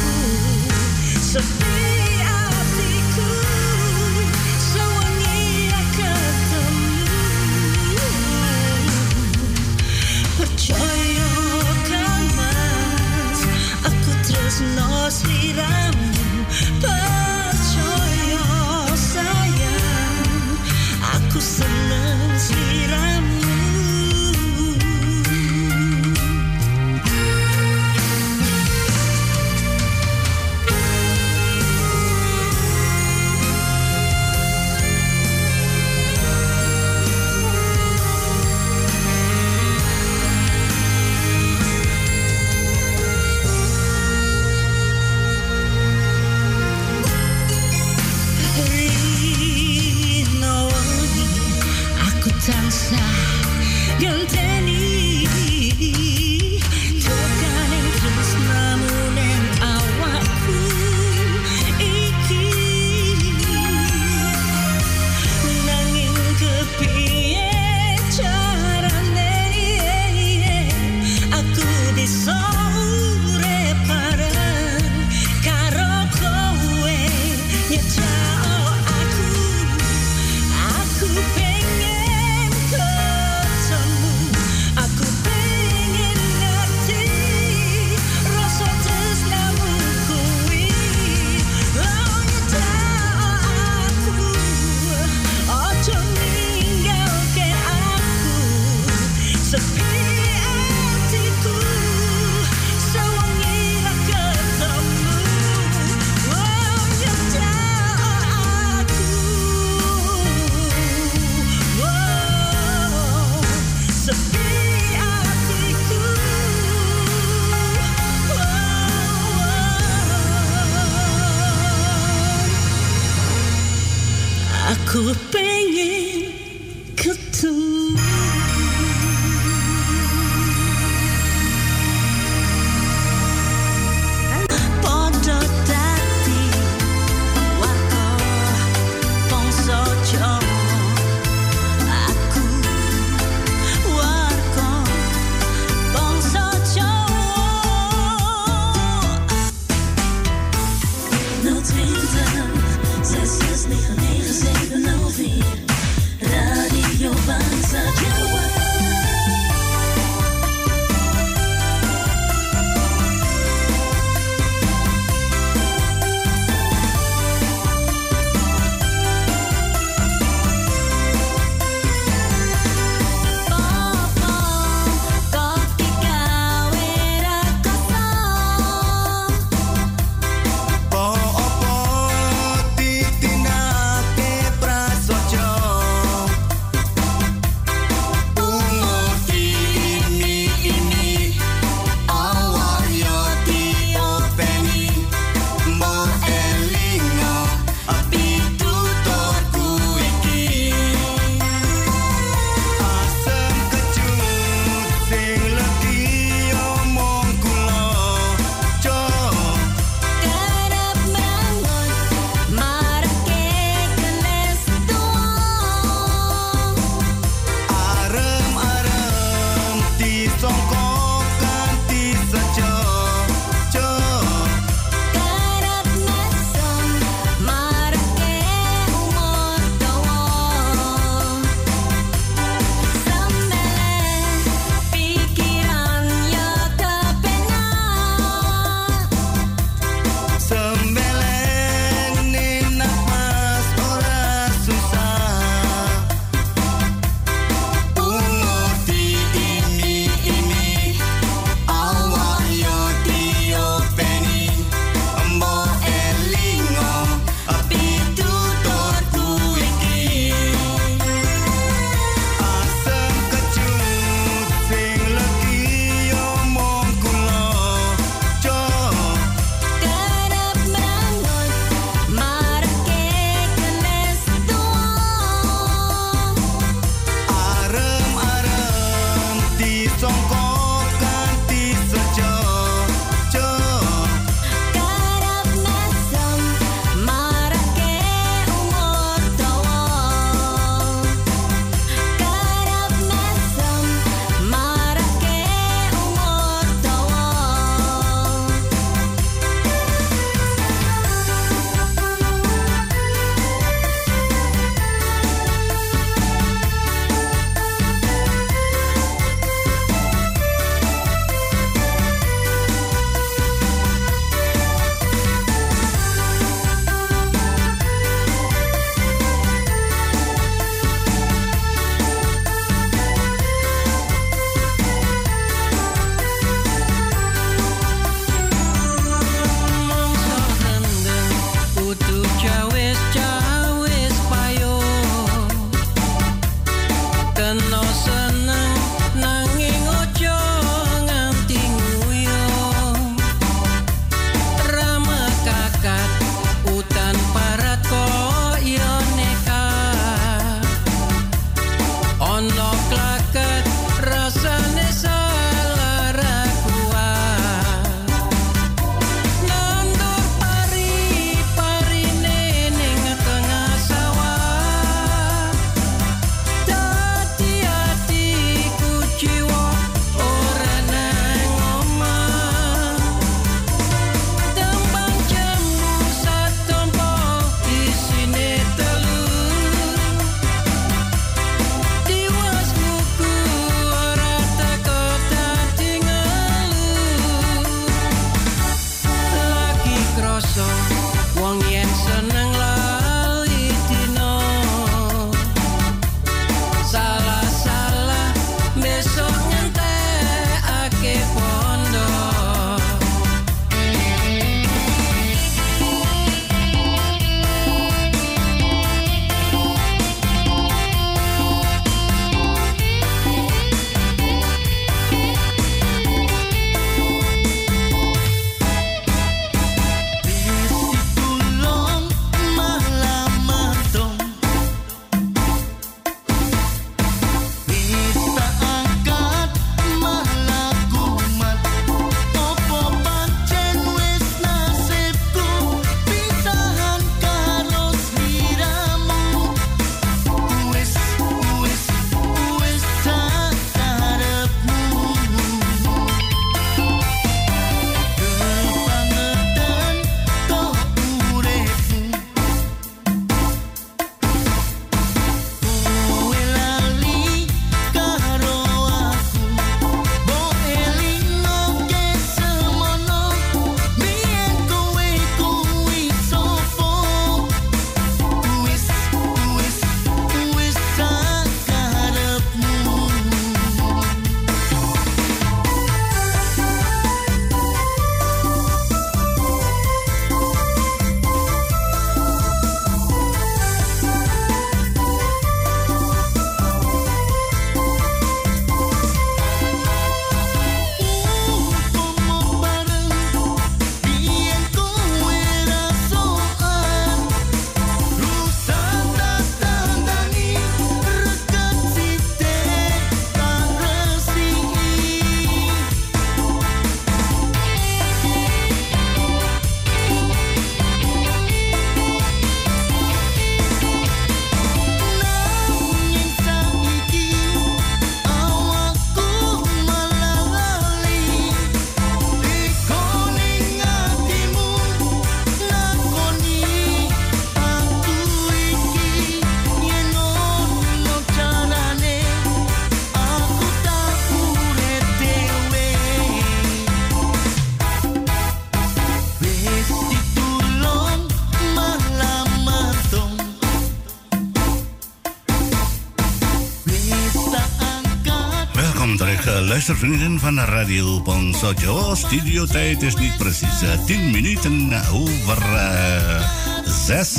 luistervrienden van Radio Bangsa Jawa. Studiotijd is niet precies uh, tien minuten over uh, zes.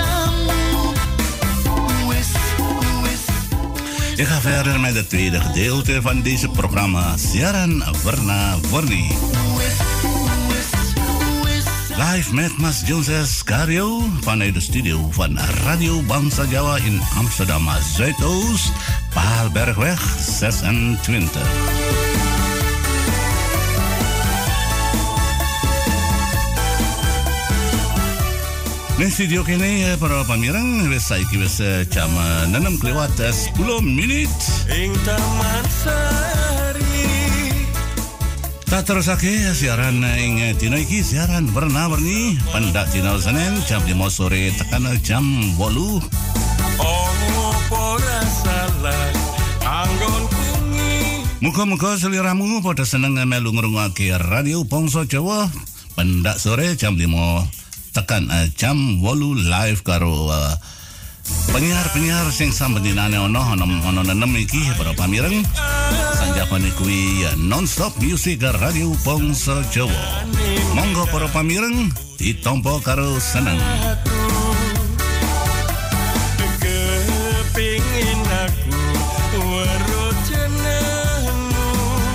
Ik ga verder met het tweede gedeelte van deze programma. Siaran Warna Warni. Live met Mas Jones Cario vanuit de studio van Radio Bangsa Jawa in Amsterdam Zuidoost, Paalbergweg zesentwintig. Di studio kini para pamireng wis saiki wis jam enam lewat sepuluh menit. Ing Taman Sari. Tak terusake siaran ing dina iki siaran warna-warni pendak dina Senin jam lima sore tekan jam wolu. Opo salah anggon kungi. Muga-muga seliramu pada seneng melu ngrungokake Radio Bangsa Jawa pendak sore jam lima tekan uh, jam wolu live karo uh, penyiar-penyiar sing sambentinane ono ono ono nenem iki para pamireng sanjapane kuwi uh, non-stop music Radio Bangsa Jawa. Monggo para pamireng ditampa karo seneng. Kepingin aku weruh jenengmu.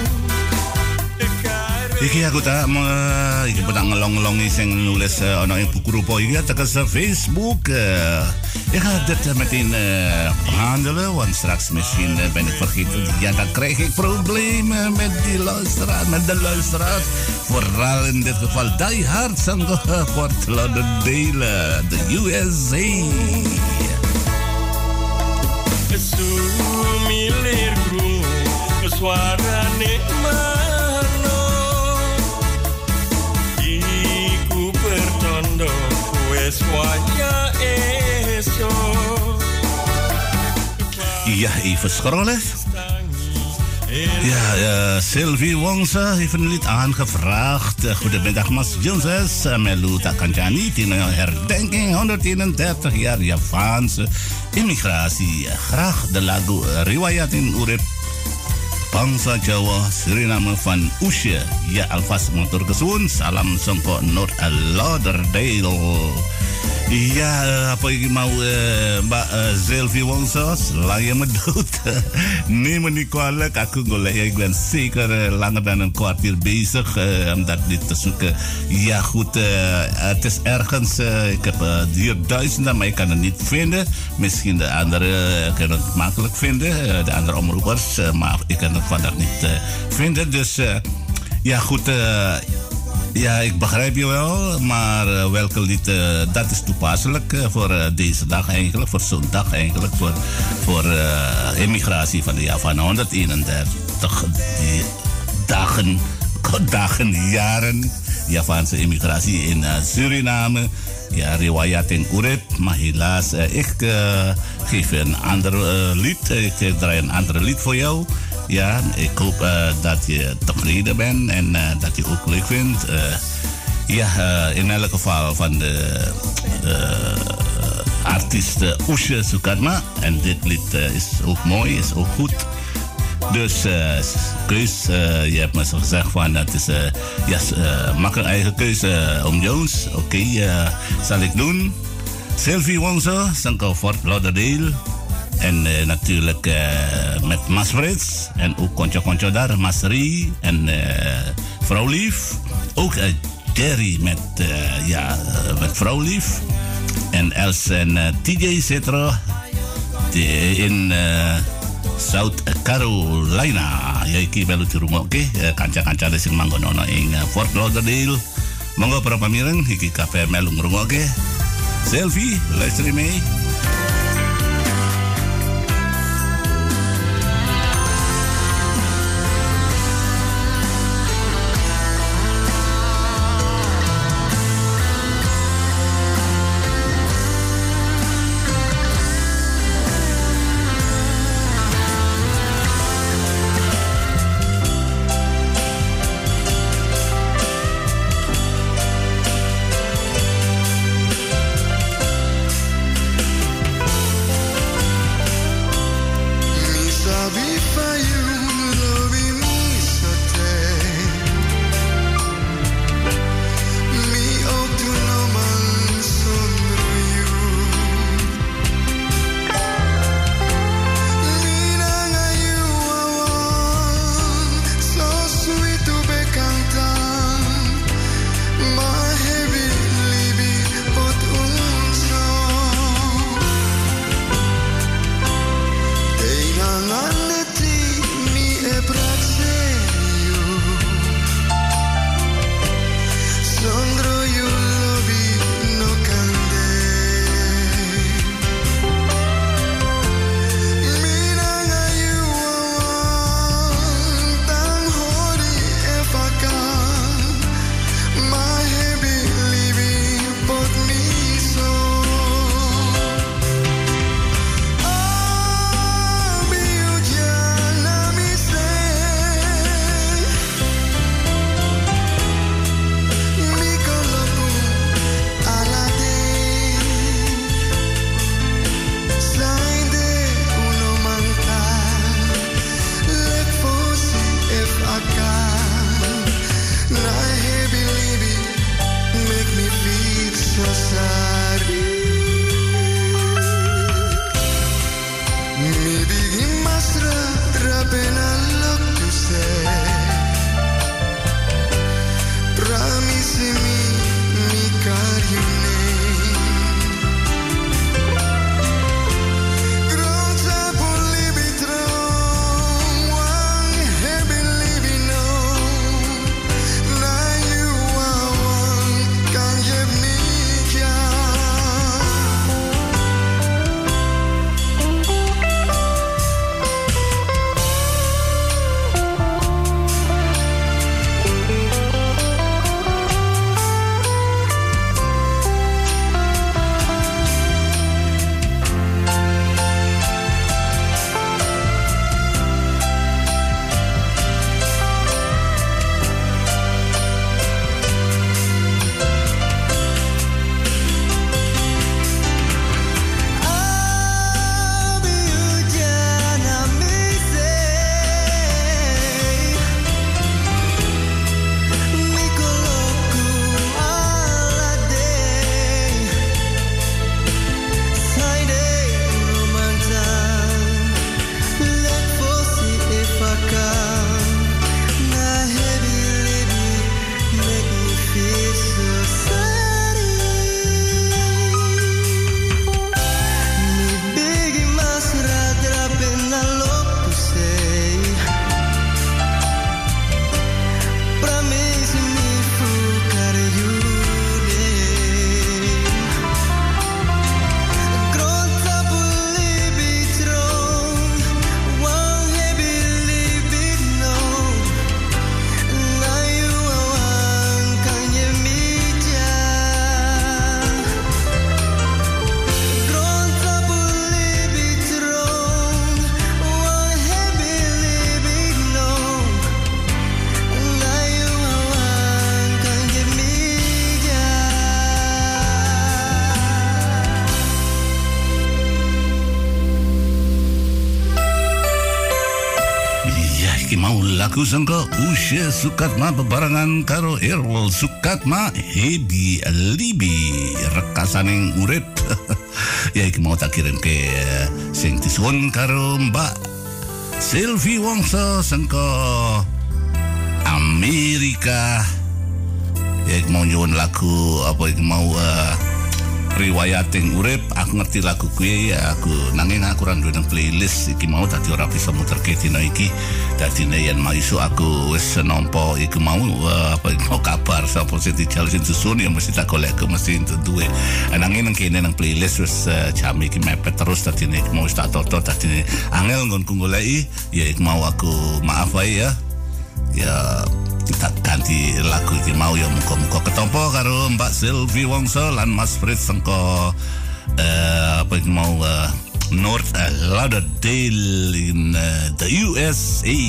Iki aku tak uh, iki pedang ngelong-ngelongi sing nulis uh, ono ing buku rupa iki tekan Facebook. Uh, ik ga dit uh, meteen uh, behandelen, want straks misschien uh, ben ik vergeten. Ja, dan krijg ik problemen met die luisteraar, met de luisteraar. Vooral in dit geval Die Hard sang uh, Fort Lauderdale, de U S A. Sumilir krungu suarane mano. Iku pertondo wes waya eso. Ja, even scrollen. Ja, uh, Sylvie Wongsa heeft een lied aangevraagd. Uh, goedemiddag, Mas Jones. Uh, Melu Takanjani, in herdenking honderdeenendertig jaar Javaanse immigratie. Uh, graag de lagu uh, Riwayat in Urip Bangsa Jawa Suriname van Usje. Ja, alvast motor kesuun. Salam songko North Lauderdale. Ja, uh, apa yang mau uh, Mbak uh, Sylvie Wongso selain medut nee meneer kwalijk aku golek ik ben zeker uh, langer dan een kwartier bezig uh, om dat dit te zoeken. Ja goed, uh, het is ergens uh, ik heb uh, hier duizenden maar ik kan het niet vinden. Misschien de andere uh, kunnen het makkelijk vinden, uh, de andere omroepers, uh, maar ik kan het vandaag niet uh, vinden. Dus uh, ja goed, uh, ja, ik begrijp je wel, maar uh, welke lied, uh, dat is toepasselijk uh, voor uh, deze dag eigenlijk, voor zo'n dag eigenlijk, voor, voor uh, immigratie van de Javaan honderdeenendertig die dagen, dagen, jaren, Javaanse immigratie in uh, Suriname. Ja, Riwayat in Urip, maar helaas, uh, ik uh, geef een ander uh, lied, ik draai een ander lied voor jou. Ja, ik hoop uh, dat je tevreden bent en uh, dat je ook leuk vindt. Uh, ja, uh, in elk geval van de uh, artiest uh, Usje Sukatma. En dit lied uh, is ook mooi, is ook goed. Dus uh, keus, uh, je hebt me zo gezegd van het is, uh, ja, uh, maak een eigen keuze uh, om Jones. Oké, okay, uh, zal ik doen. Sylvie Wongso, Sanko Fort Lauderdale. En uh, natuurlijk uh, met Mas Frits. En ook Koncho-Koncho daar, Mas Rie en uh, Vrouw Lief. Ook uh, Jerry met, uh, ja, uh, met Vrouw Lief. En Els en uh, T J Cetro in uh, South Carolina. Ya iki melu di rumah oke. Okay? Kanca-kanca sing manggon ono ing uh, Fort Lauderdale. Monggo para pamireng iki kabeh melu ngrungokke. Selfie, luister mee. iku sangka Usya Sukatma bebarengan karo Errol Sukatma Hebi Libi rekasaning urip. Ya iki mau tak kirim ke sing disuwun karo Mbak Sylvie Wongso sangka Amerika. Ya iki mau nyuwun lagu apa iki mau uh, riwayating urip. Aku ngerti lagu kuwi ya aku nanging aku ora duwe nang playlist iki mau dadi ora bisa muterke dina iki. Dadine yen maiso aku wis nampa iku mau uh, apa mau kabar sapa sing dijal sing susun ya mesti tak golek ke mesti duwe. Nanging nang kene nang playlist wis uh, jam iki mepet terus dadine mau wis tak toto dadine angel nggonku goleki ya iku mau aku maaf wae ya. Ya kita ganti lagu iki mau ya muga-muga ketompo karo Mbak Sylvie Wongso lan Mas Fritz sengko uh, apa iki mau uh, North Lauderdale in uh, the U S A.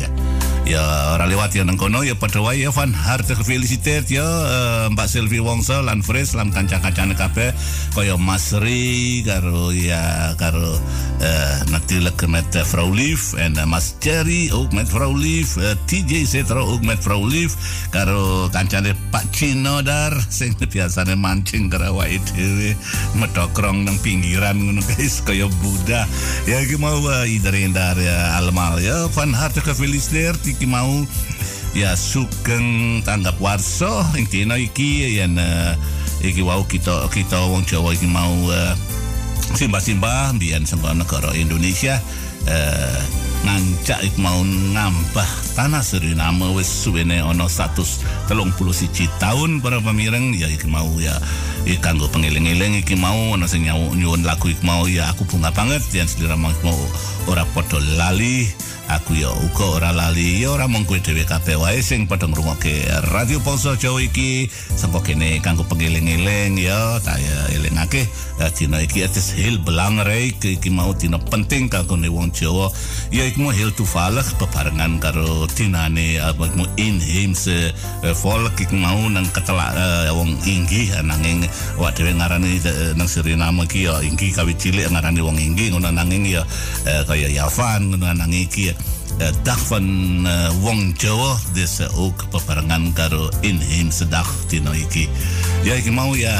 Ya ora lewat ya nang kono ya padha wae ya van harte gefeliciteerd ya uh, Mbak Sylvie Wongso lan Fritz lan kanca-kancane kabeh kaya Mas Ri karo ya karo uh, natuurlijk met uh, Vrouw Lief en uh, Mas Cherry ook met Vrouw Lief, uh, T J Setro ook met Vrouw Lief karo kancane Pak Cino dar sing biasane mancing karo awake dhewe medokrong nang pinggiran ngono guys kaya Buddha. Ya iki mau uh, iedereen daar ya allemaal ya van harte gefeliciteerd iki mau ya sugeng tanggap warso ing dina iki yen uh, iki wau kita kita wong Jawa iki mau uh, simbah-simbah mbiyen saka negara Indonesia uh, ngancak ik mau ngambah tanah Suriname wis suwene ana seratus telung puluh siji tahun para pamireng ya iki mau ya iki kanggo pengeling-eling iki mau ana sing nyuwun lagu iki mau ya aku bunga banget yen selira mau ora padha lali aku ya uga ora lali ya ora mung kowe dhewe kabeh wae sing padha ngrungokke Radio Bangsa Jawa iki sangko kene kanggo pengeling-eling ya tak ya elingake dina iki ates heel belangrijk iki mau dina penting kanggo wong Jawa ya iki mau heel toevallig bebarengan karo dinane apa mau inheemse uh, volk iki mau nang ketelak uh, wong inggih nanging wak dhewe ngarani uh, nang Suriname iki ya inggih kawit cilik ngarani wong inggih ngono nanging ya uh, kaya Yavan ngono nanging iki Uh, dag van uh, wong Jawa dis uh, ook bebarengan karo inheemse dag dina iki. Ya iki mau ya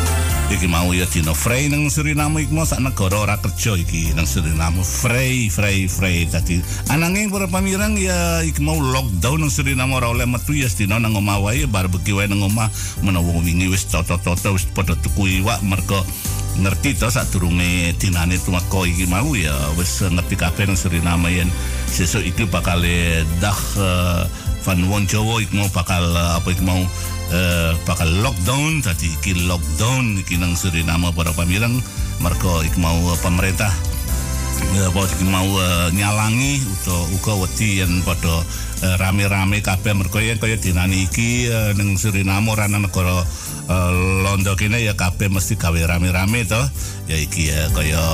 iki mau ya dina vrij nang Suriname iki mau sak negara ora kerja iki nang Suriname vrij vrij vrij dadi ananging para pamirang ya iki mau lockdown nang Suriname ora oleh metu ya dina nang omah wae barbecue wae nang omah menawa wingi wis toto-toto wis padha tuku iwak mergo ngerti to sadurunge dinane tumako iki mau ya wis ngerti kabeh nang Suriname yen sesuk iki bakal dag uh, van wong Jawa iki mau bakal uh, apa iki mau uh, bakal lockdown tadi iki lockdown iki nang Suriname para pamirang mergo iki mau uh, pemerintah uh, apa iki mau uh, nyalangi uga uga wedi yen padha uh, rame-rame kabeh mergo yen kaya dinane iki uh, nang Suriname ora nang negara Uh, Londo kene ya kabeh mesti gawe rame-rame to ya iki ya kaya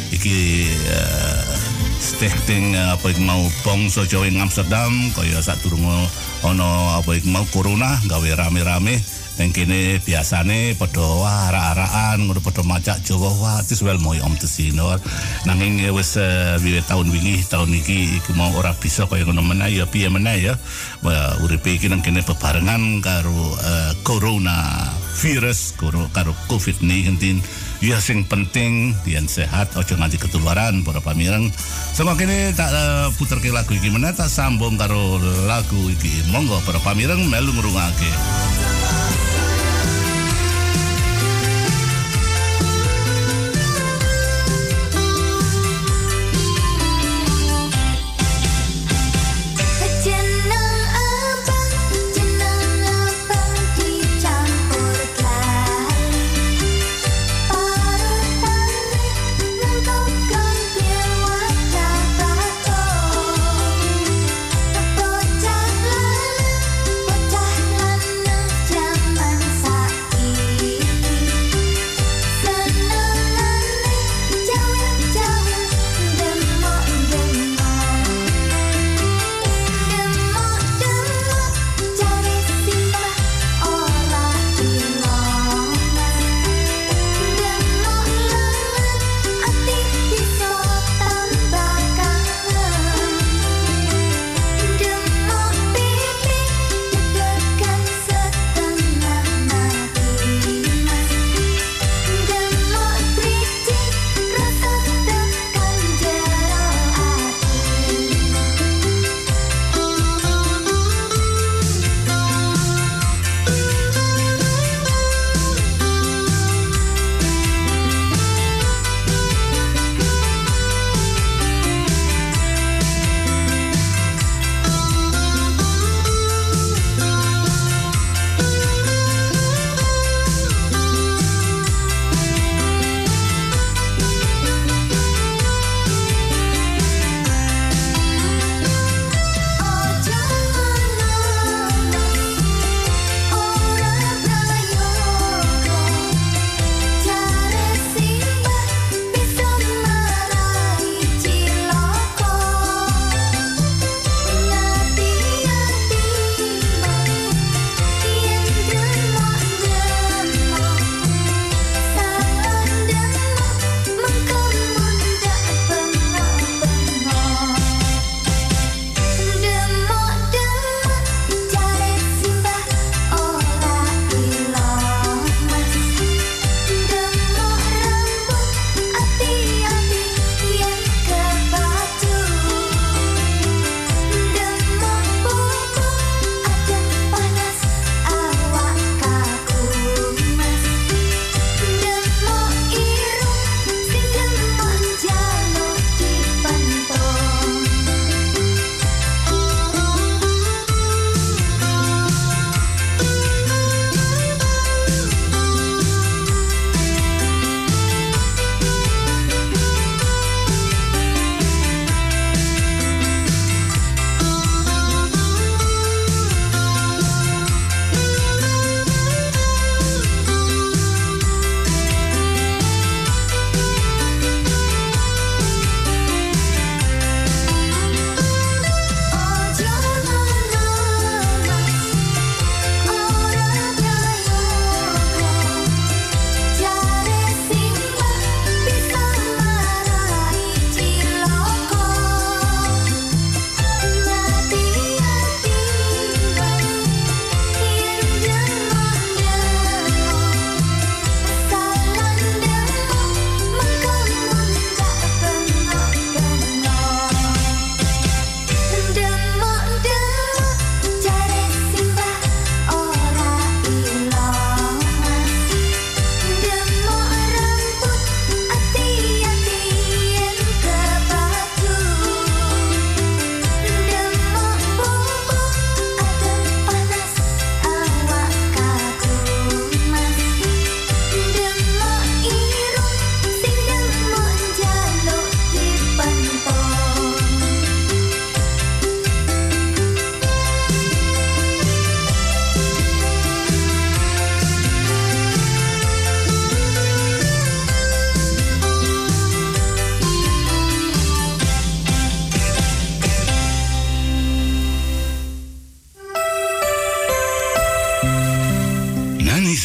iki uh, stichting uh, apa iki mau bangsa Jawa ing Amsterdam kaya sadurunge ana apa iki mau corona gawe rame-rame nang kene biasane padha ara-araan ngono padha macak Jawa wah tis wel moy om tesino nanging wis uh, wiwit taun wingi taun iki iki mau ora bisa kaya ngono meneh ya piye meneh ya uh, uripe iki nang kene bebarengan karo uh, corona virus karo karo covid nineteen ya sing penting yen sehat aja nganti ketularan para pamireng sama kene tak uh, puterke lagu iki meneh tak sambung karo lagu iki monggo para pamireng melu ngrungokake. Bocah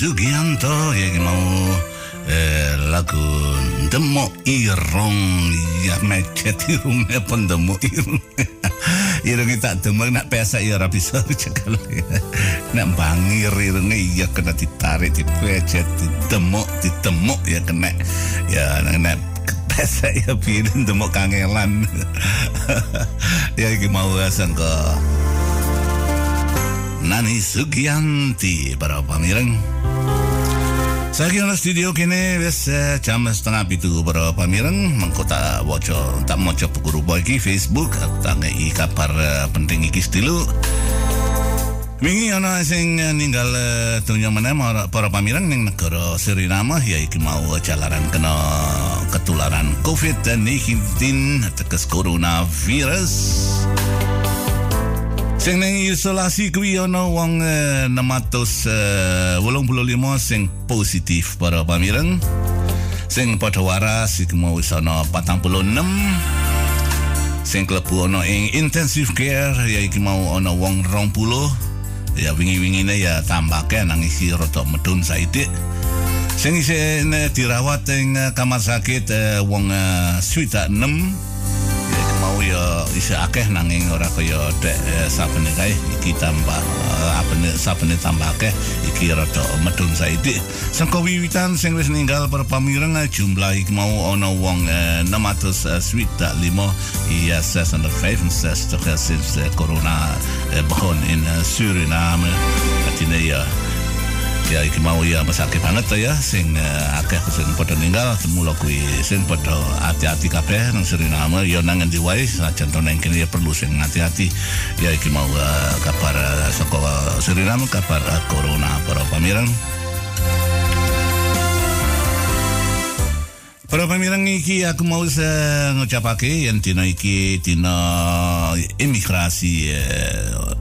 Sugianto ya mau eh, lagu Demo Irong ya macet irungnya pun demo irung irung kita demo nak pesa ya rapi bisa cakal nak bangir irungnya ya kena ditarik dipecet didemo didemo ya kena ya nak pesa ya pilih demo kangelan ya iki mau sangka Nani Sugianti para pamireng. Saya kira studio kini wes jam setengah pitu para pamireng mengkota woco tak moco pukuru bagi Facebook tak ngei kabar penting iki stilu. Wingi ana sing ninggal dunya meneh para pamireng ning negara Suriname ya iki mau jalaran kena ketularan covid sembilan belas teges coronavirus. Sing nang isolasi kuwi ana wong enam ratus wolung puluh lima sing positif para pamireng. Sing padha waras iku mau ana patang puluh enam. Sing klebu ana ing intensive care ya iki mau ana wong rong puluh. Ya wingi-wingine ya tambake nang isi rada medun saithik. Sing isih dirawat ing kamar sakit wong swidak enam. Mau ya isih akeh nanging ora kaya dek sapene kae iki tambah apane sapene tambah akeh iki rada medun saithik. Saka wiwitan sing wis ninggal para pamireng jumlah iki mau ana wong enam ratus swidak lima iya sesende vyfenzestig sinds corona begon in Suriname. Artinya ya ya iki mau ya mesake banget ya sing uh, akeh sing padha ninggal semula kuwi sing padha hati-hati kabeh nang Suriname ya nang endi wae sajan to nang kene ya perlu sing hati-hati ya iki mau uh, kabar uh, saka Suriname kabar uh, corona para pamireng. Para pamireng iki aku mau uh, ngucapake yen dina iki dina imigrasi uh,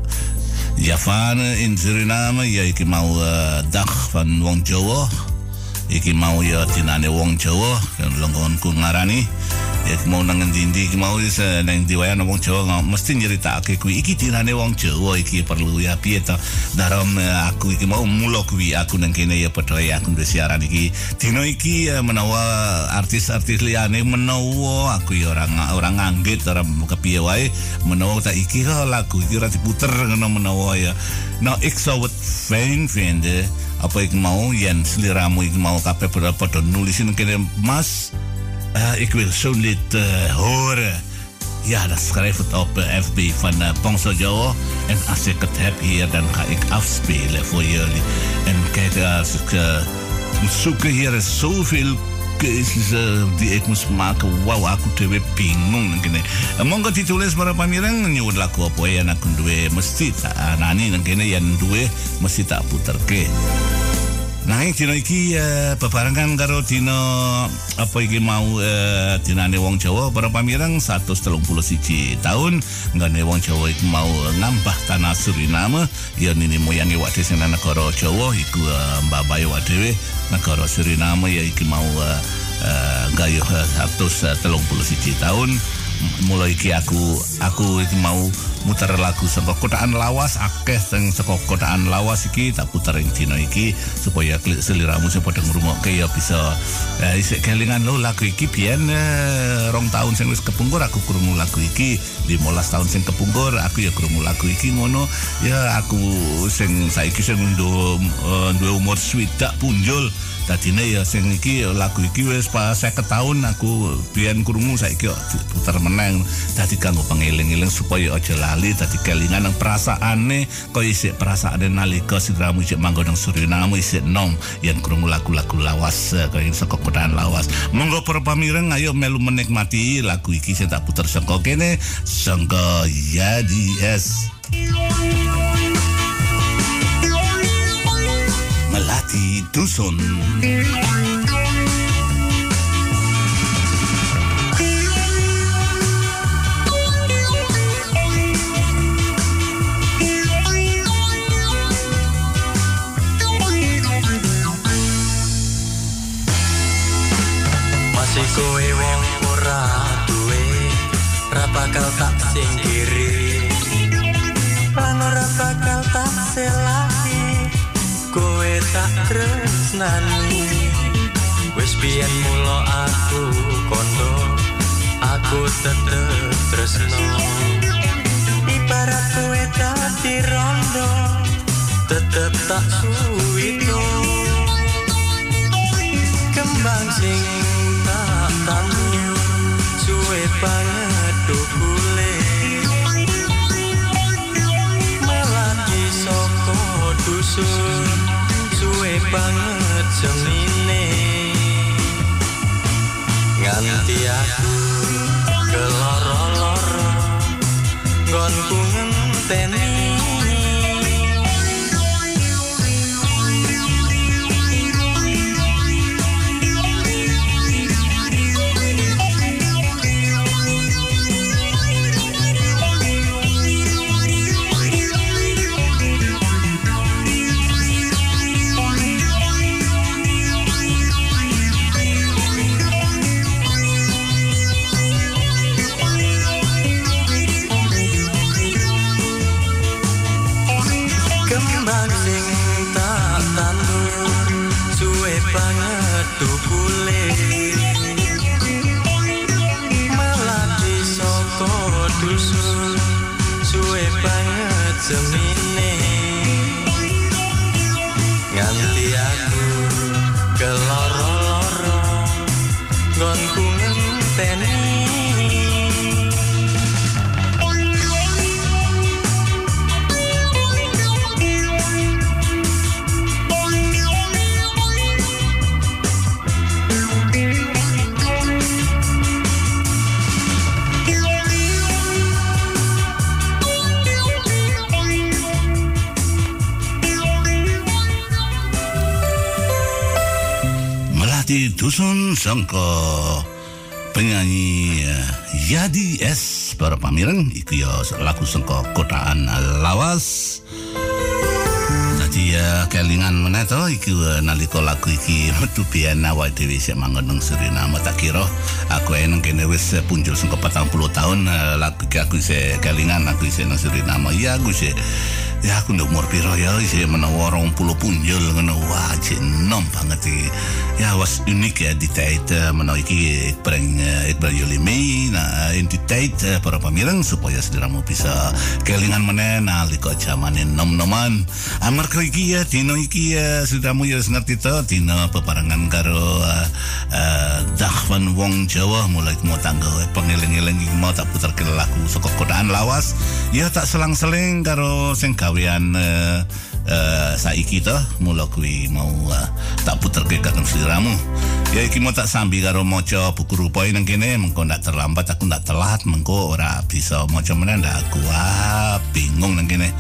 Javan in Suriname ya iki mau uh, dag van wong Jawa. Iki mau ya dinane wong Jawa kan longgonku ngarani. Ya mau nang endi-endi iki mau wis nang diwayan wong Jawa mesti nyeritake kuwi iki dinane wong Jawa iki perlu ya piye to. Daram aku iki mau mulo kuwi aku nang kene ya padha aku duwe siaran iki. Dino iki ya, menawa artis-artis liyane menawa aku ya ora ora nganggit ora kepiye wae menawa tak iki lagu iki ora diputer ngono menawa ya. Nou ik zou het fijn vinden apa ik mau yen sliramu ik mau kabeh padha nulisin kene Mas. Uh, ik wil zo'n lied uh, horen. Ja, dan schrijf het op uh, F B van uh, Bangsa Jawa. En als ik het heb hier, dan ga ik afspelen voor jullie. En kijk, als ik uh, moet zoeken, hier is zoveel keuzes uh, die ik moest maken. Wauw, aku tewe bingung. Uh, Monggo ditulis para pamireng nyuwun lagu apa ya aku duwe mesti tak nani nang kene yen duwe mesti tak puterke. Nanging dina iki uh, bebarengan karo dina apa iki mau uh, dinane wong Jawa para pamireng seratus tiga puluh satu tahun nggone wong Jawa iki mau ngambah tanah Suriname ya nini moyange wak dhewe nang negara Jawa iku uh, mbabahe wak dhewe negara Suriname ya iki mau uh, uh, gayuh seratus tiga puluh satu tahun. Mulai iki aku aku iki mau muter lagu saka kotaan lawas akeh sing saka kotaan lawas iki tak puter ing dina iki supaya seliramu sing padha ngrungokke ya bisa eh, isih kelingan lo lagu iki biyen eh, rong tahun sing wis kepungkur aku krungu lagu iki limolas tahun sing kepungkur aku ya krungu lagu iki ngono ya aku sing saiki sing duwe uh, umur swidak punjul dadine ya sing iki lagu iki wis pas seket tahun aku biyen krungu saiki puter meneng dadi kanggo pengeling-eling supaya aja lali dadi kelingan nang perasaane kok isih perasaane nalika siramu isih manggon nang Suriname isih nom yen krungu lagu-lagu lawas kaya saka kotaan lawas. Monggo para pamireng ayo melu menikmati lagu iki sing tak puter saka kene saka Yadi S. Melati Dusun. Masih kowe wong ora duwe ra bakal tak singkiri lan ora bakal tak selaki kowe tak tak tresnani. Wis biyen mula aku kondo, aku tetep tresno. Ibarat kowe dadi rondo, tetep tak suwito. Kembang sing tak tandur, suwe banget dukule. Melati saka dusun, suwe banget semine. Nganti aku keloro-loro, nggonku ngenteni. Banget tukule melati saka dusun, suwe banget semine. Nganti aku keloro-loro, nggonku ngenteni. Di dusun sangka penyanyi uh, Yadi S para pamireng iki ya lagu sangka kotaan Lawas. Dadi uh, kelingan meneh to iki uh, nalika lagu iki metu biyen awake dhewe isih manggon nang Suriname, tak kira aku eneng kene wis punjul sangka patang puluh tahun uh, lagu iki aku isih kelingan aku isih nang Suriname. Ya aku isih ya aku nduk umur piro ya isih menawa rong puluh punjul ngono. Wah jenom banget iki. Ya was unik ya di tijd uh, menawa iki ek bring uh, ek bring jullie mee na in die tijd uh, para pamireng supaya sediramu bisa kelingan meneh nalika jamane nom-noman. Amarga iki ya dino iki ya sediramu ya ngerti to dino peparangan karo uh, uh, dah van wong Jawa mulai mau tanggo pengeling-eling mau tak puterke lagu saka kotaan Lawas. Ya tak selang-seling karo sing gawean uh, uh, saiki to mula kuwi mau uh, tak puterke kagem sliramu. Ya iki mau tak sambi karo maca buku rupae nang kene mengko ndak terlambat aku ndak telat mengko ora bisa maca meneh ndak aku ah, bingung nang kene.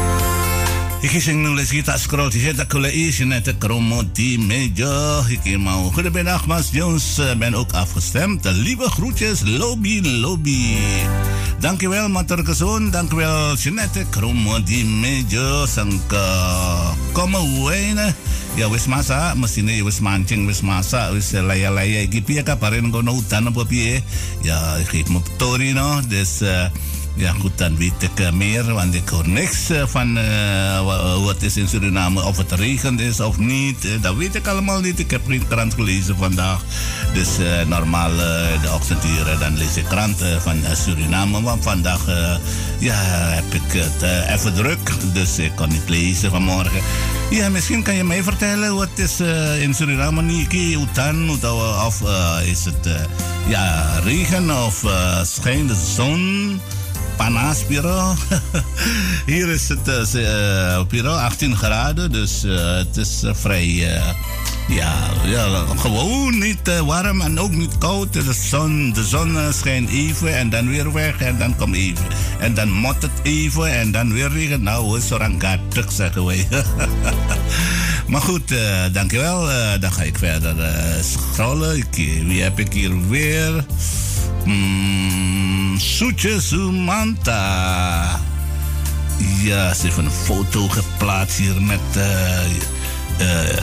Iki sing nulis iki tak scroll dhisik tak goleki sine te kromo die meja. Iki mau goedemiddag Mas Jones, ben ook afgestemd. Lieve groetjes, lobby, lobby. Dankjewel Mater Gezoon, dankjewel Jeanette kromo die meja sangka komen wene. Ya wis masak, mestine wis mancing, wis masak, wis laya-laya iki piye kabarin kono udan apa piye? Ya ik moet tori no, dus uh, ja, goed, dan weet ik uh, meer, want ik hoor niks uh, van uh, wat is in Suriname, of het regent is of niet. Uh, dat weet ik allemaal niet. Ik heb geen krant gelezen vandaag. Dus uh, normaal uh, de ochtenduren, dan lees ik krant uh, van uh, Suriname. Want vandaag uh, ja, heb ik het uh, even druk, dus ik kan niet lezen vanmorgen. Ja, misschien kan je mij vertellen wat is uh, in Suriname niet hutan of uh, is het uh, ja, regen of uh, schijnt de zon? Panas piro. Hier is het uh, piro achttien graden, dus uh, het is uh, vrij uh, ja, ja, gewoon niet uh, warm en ook niet koud. De zon, de zon uh, schijnt even en dan weer weg en dan komt even. En dan mot het even en dan weer regen. Nou, is orang gatek zeggen wij. Maar goed, uh, dankjewel. Uh, dan ga ik verder uh, scrollen. Ik, wie heb ik hier weer? Hmm, Soetje Sumanta. Ja, ze heeft een foto geplaatst hier met uh, uh,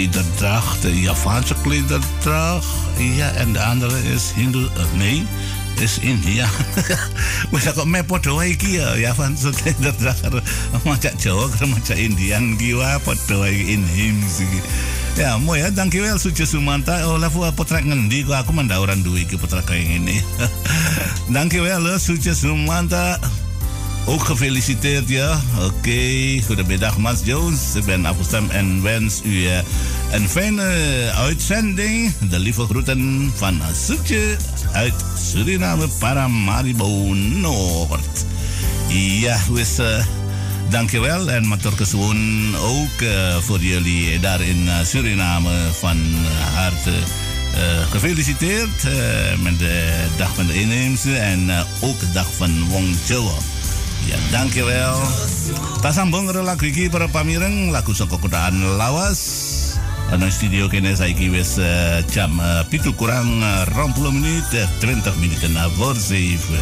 klederdracht, de Javaanse klederdracht. Ja, en de andere is Hindu. Uh, nee, is India. Wis kok me padha wae iki ya, ya van so dat dasar macam Jawa karo macam Indian ki wae padha wae in him iki. Ya, mooi ya, dankjewel Suci Sumanta. Oh, lafu potrak ngendi kok aku mendauran duwe iki potrak kaya ngene. Dankjewel Suci Sumanta. Ook gefeliciteerd, ja. Oké, okay. Goedemiddag, Mas Jones. Ik ben afgestemd en wens u uh, een fijne uitzending. De lieve groeten van Suce uit Suriname, Paramaribo Noord. Ja, dus uh, dankjewel en matur kesuwun ook uh, voor jullie daar in uh, Suriname van harte uh, gefeliciteerd uh, met de dag van de inheemse en uh, ook de dag van Wong Jawa. Ya, dankjewel. Tasambung lagu iki para pamireng, lagu saka kotaan lawas. Ana studio kene saiki wis uh, jam uh, pitu kurang uh, dua puluh menit, dua puluh menit na voor zeven.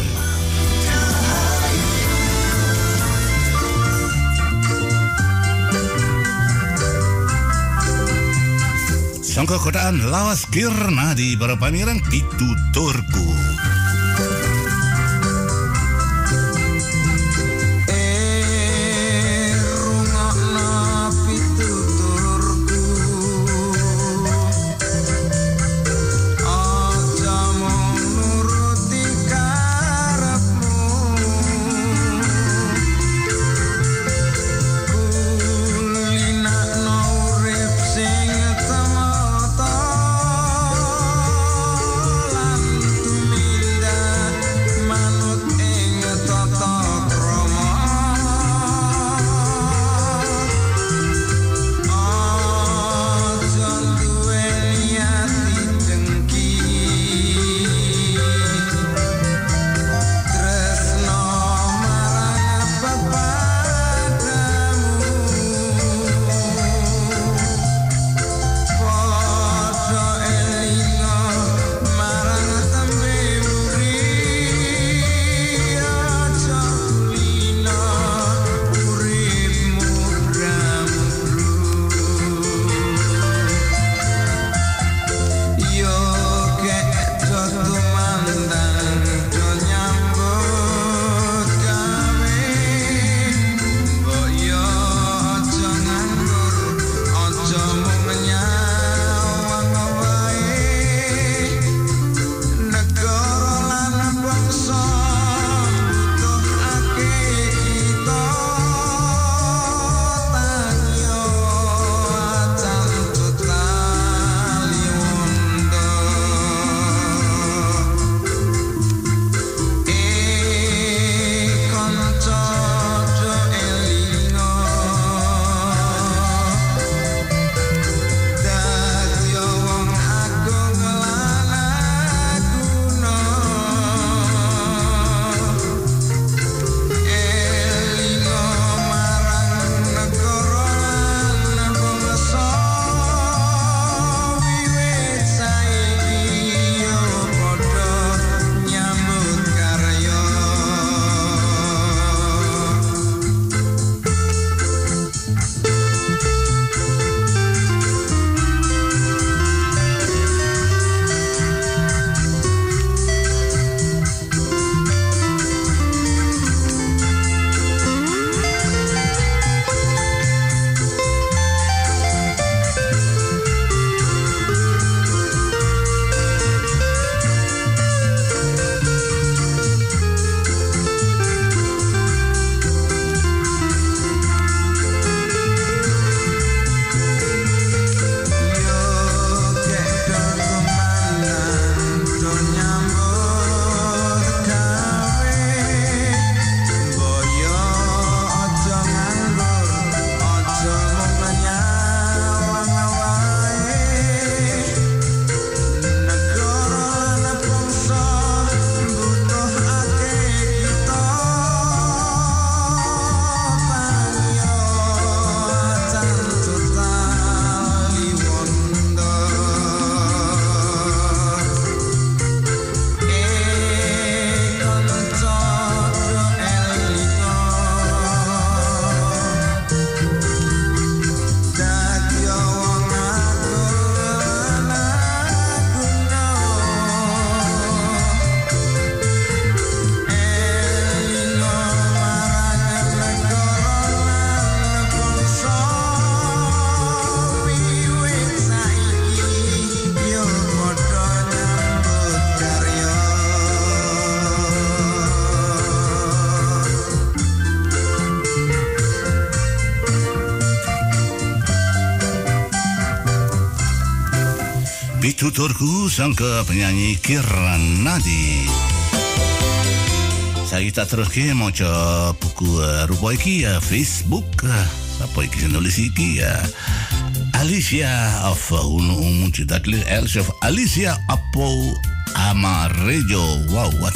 Sangka kotaan lawas kirna di para pamireng pitu turku. Thank you. Pituturku sangka penyanyi Kiranadi. Saya tak terus ke mau coba buku rupa iki ya Facebook. Apa iki nulis iki ya? Alicia of unu umu tidak li Alicia of Alicia Apo Amarejo. Wow, what?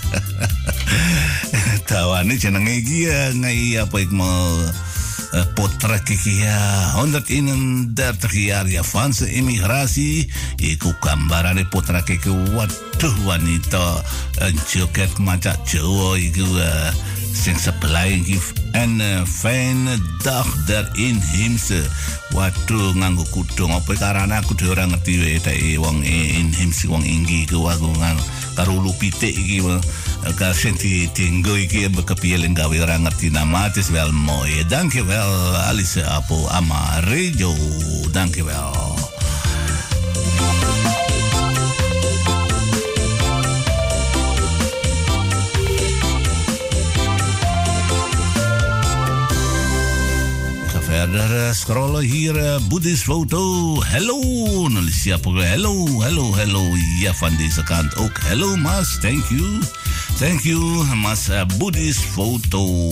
Tawane jenenge iki ya ngai apa ik mau potret iki ya honderdeenendertig jaar Japanse immigratie. Iku gambarane potret iki waduh wanita joget macam Jawa iku uh, sing sebelah iki en uh, fijne dag der inheemse. Waduh nganggo kudung apa karane aku dhewe ora ngerti wae tak wong inheemse wong inggi iku aku karo lupitik iki ka senti tinggo iki bekepiye gawe ora ngerti nama het is wel mooi. Dankjewel Alice Apo Amarejo. Dankjewel. Verder scrollen hier uh, Boeddhist foto. Hello, nulis siapa? Hello, hello, hello. Ja, van deze kant ook. Hello, Mas. Thank you. Thank you, Mas uh, Boeddhist foto.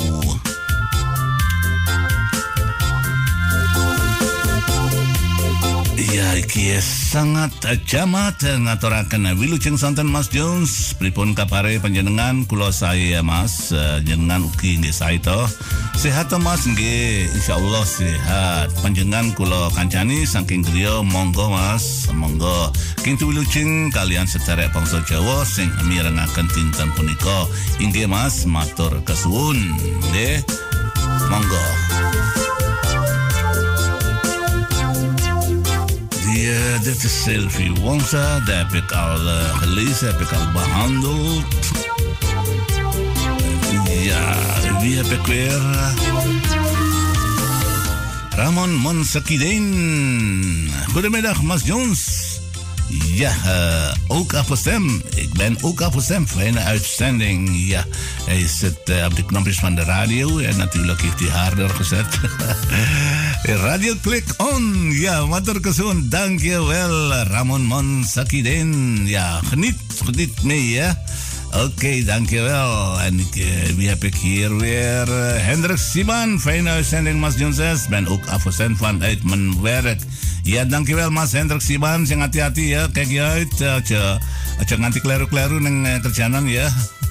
Ya, iki sangat jamat ngaturaken wilujeng sonten Mas Jones. Pripun kapare panjenengan? Kula saya Mas, uh, jenengan ugi nggih sae to. Sehat to Mas nggih, insyaallah sehat. Panjenengan kula kancani saking griya monggo Mas, monggo kintu wilujeng kalian sedherek bangsa Jawa sing mirengaken dinten punika. Inggih Mas, matur kesuwun. Nggih. Monggo. Ja, dit is Sylvie Wonsa. Daar heb ik al uh, gelezen, heb ik al behandeld. Ja, wie heb ik weer? Ramon Monsekiden. Goedemiddag, Mas Jones. Ja, uh, ook afgestemd. Ik ben ook afgestemd. Fijne uitzending. Ja, hij zit uh, op de knopjes van de radio. En natuurlijk heeft hij harder gezet. Radio Click On. Ja, matur kesuwun. Dankjewel, Ramon Monsakiden. Ja, geniet, geniet mee, ja. Oké, okay, dankjewel. En ik, uh, wie heb ik hier weer? Uh, Hendrik Siban. Fijne uitzending, Mas Jones. Ben ook afgestemd vanuit mijn werk. Ja, dankjewel Mas Hendrik Siban. Sing hati-hati ya. Kijk je uit. Aja, aja nganti kleru-kleru neng uh, kerjaanan ya.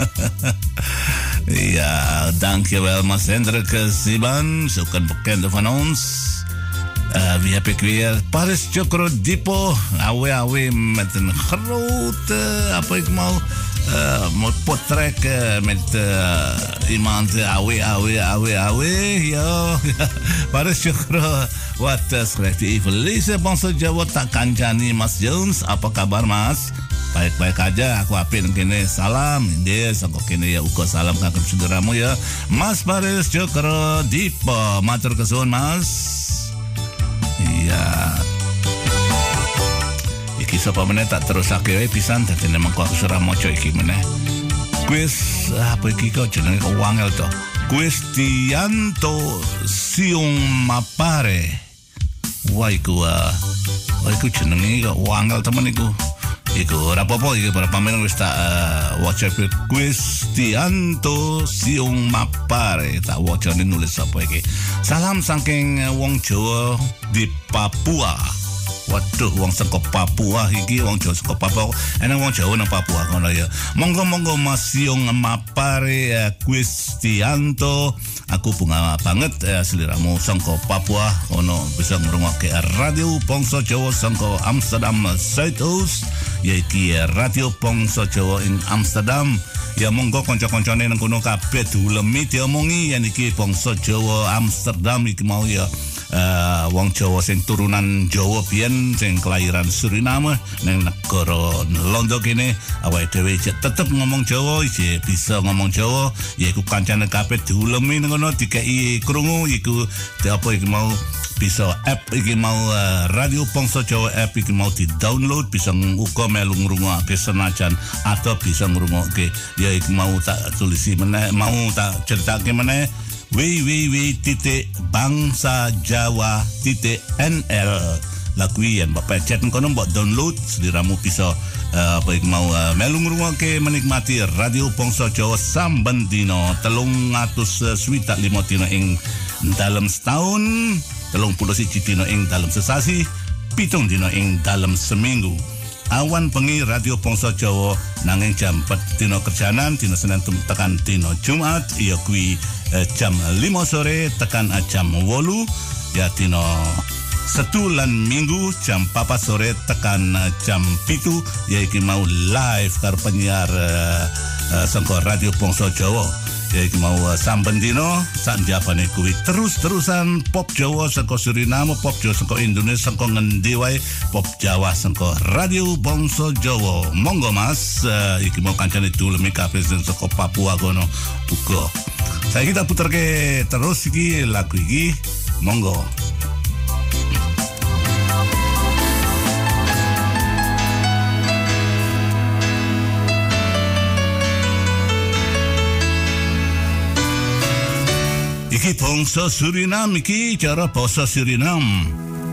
Ja, dankjewel Mas Hendrik Siban. Zo'n bekende van ons. Uh, wie heb ik weer? Paris Chocrodipo. Awe awe met een grote, apa ik mau, uh, potret uh, met uh, iemand awe awe awe awe. Ja, Paris Chocro. Wat uh, schrijft hij even lezen? Bangsa Jawa tak kancani Mas Jones. Apa kabar Mas? Baik-baik aja, aku apin kene salam. Ini sangko kene ya uga salam kagem saudaramu ya. Mas Paris Chocrodipo. Matur kesuwun Mas. Iya. Iki sapa meneh tak terusake wae pisan dadi nek mengko aku ora maca iki meneh. Kuis apa iki kok jenenge kok wangel to. Cristianto Siung Mapare. Wah iku uh, wah iku jenenge kok wangel temen iku. Iku ora apa-apa iki para pamen wis tak uh, waca Cristianto Siung Mapare. Tak wacane nulis apa iki. Salam saking uh, wong Jawa di Papua. Waduh, wong saka Papua iki, wong Jawa saka Papua. Enak wong Jawa nang Papua ngono ya. Monggo-monggo Mas Siung Mapare uh, Cristianto. Aku bunga banget uh, seliramu saka Papua ono bisa ngrungokke Radio Bangsa Jawa saka Amsterdam Zuidoost. Yaiki Radio Bangsa Jawa ing Amsterdam. Ya monggo kanca-kancane nang kono kabeh diulemi diomongi yen iki Bangsa Jawa Amsterdam iki mau ya. Uh, wong Jawa sing turunan Jawa biyen sing kelahiran Suriname nang negara Londo kene awake dhewe tetep ngomong Jawa, iki bisa ngomong Jawa, yaiku kancane kabeh diulemi ngono dikeki krungu iku apa iki mau bisa app iki mau uh, Radio Bangsa Jawa app iki mau di-download bisa uga melu ngrungokke senajan atau bisa ngrungokke ya iki mau tak tulisi meneh mau tak ceritake meneh w w w titik bangsa jawa titik n l lakuin bapak chat kono mbok download seliramu bisa uh, apa yang mau uh, melu ngrungokke menikmati Radio Bangsa Jawa samben dina telung atus swidak lima dina ing dalam setahun, telung puluh siji dina ing dalam sesasi, pitung dina ing dalam seminggu. Awan bengi Radio Bangsa Jawa nanging jam empat dina kerjaanan, dina Senin tekan dina Jumat iya kuwi eh, jam lima sore tekan eh, jam wolu, ya dina Setu lan Minggu jam papat sore tekan eh, jam pitu, ya iki mau live karo penyiar eh, eh, saka Radio Bangsa Jawa. Ya iki mau uh, samben dino sak njabane kuwi terus-terusan pop Jawa saka Suriname, pop Jawa saka Indonesia, saka ngendi wae pop Jawa saka Radio Bangsa Jawa. Monggo Mas, uh, iki mau kancane duleme kabeh saka Papua kono uga. Saya kita puterke terus iki lagu iki. Monggo. Iki bangsa Suriname iki cara basa Suriname.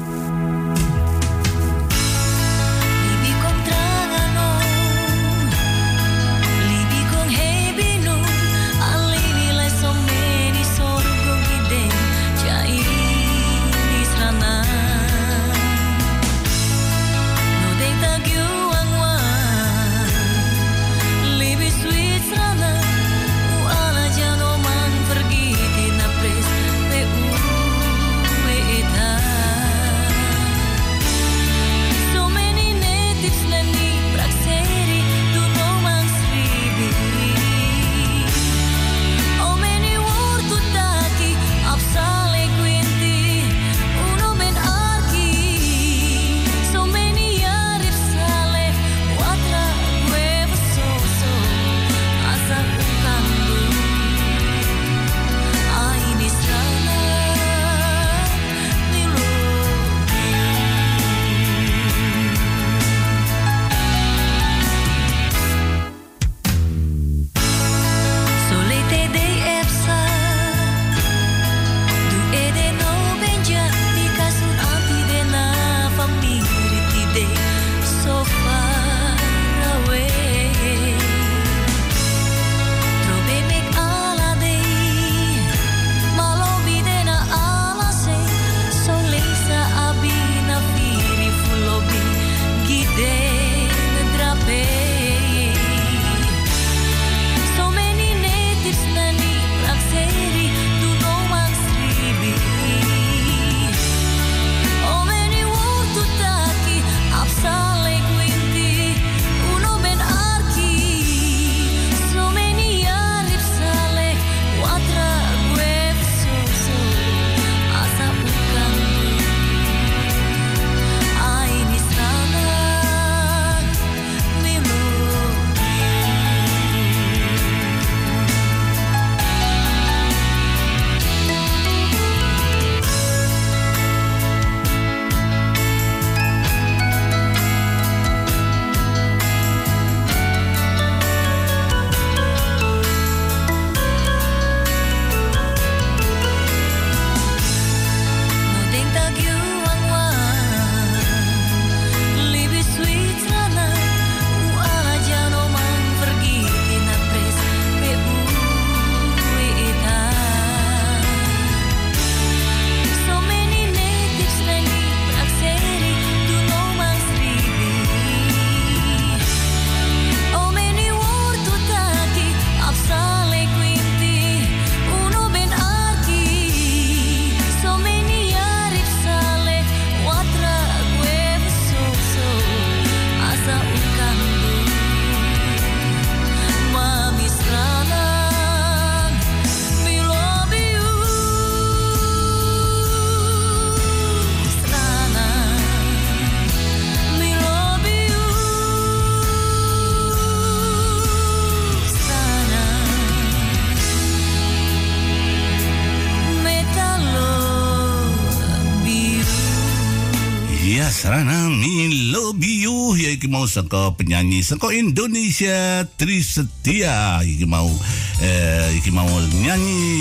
Sarana Mi Love You ya iki mau saka penyanyi saka Indonesia Tri Setia iki mau eh, iki mau nyanyi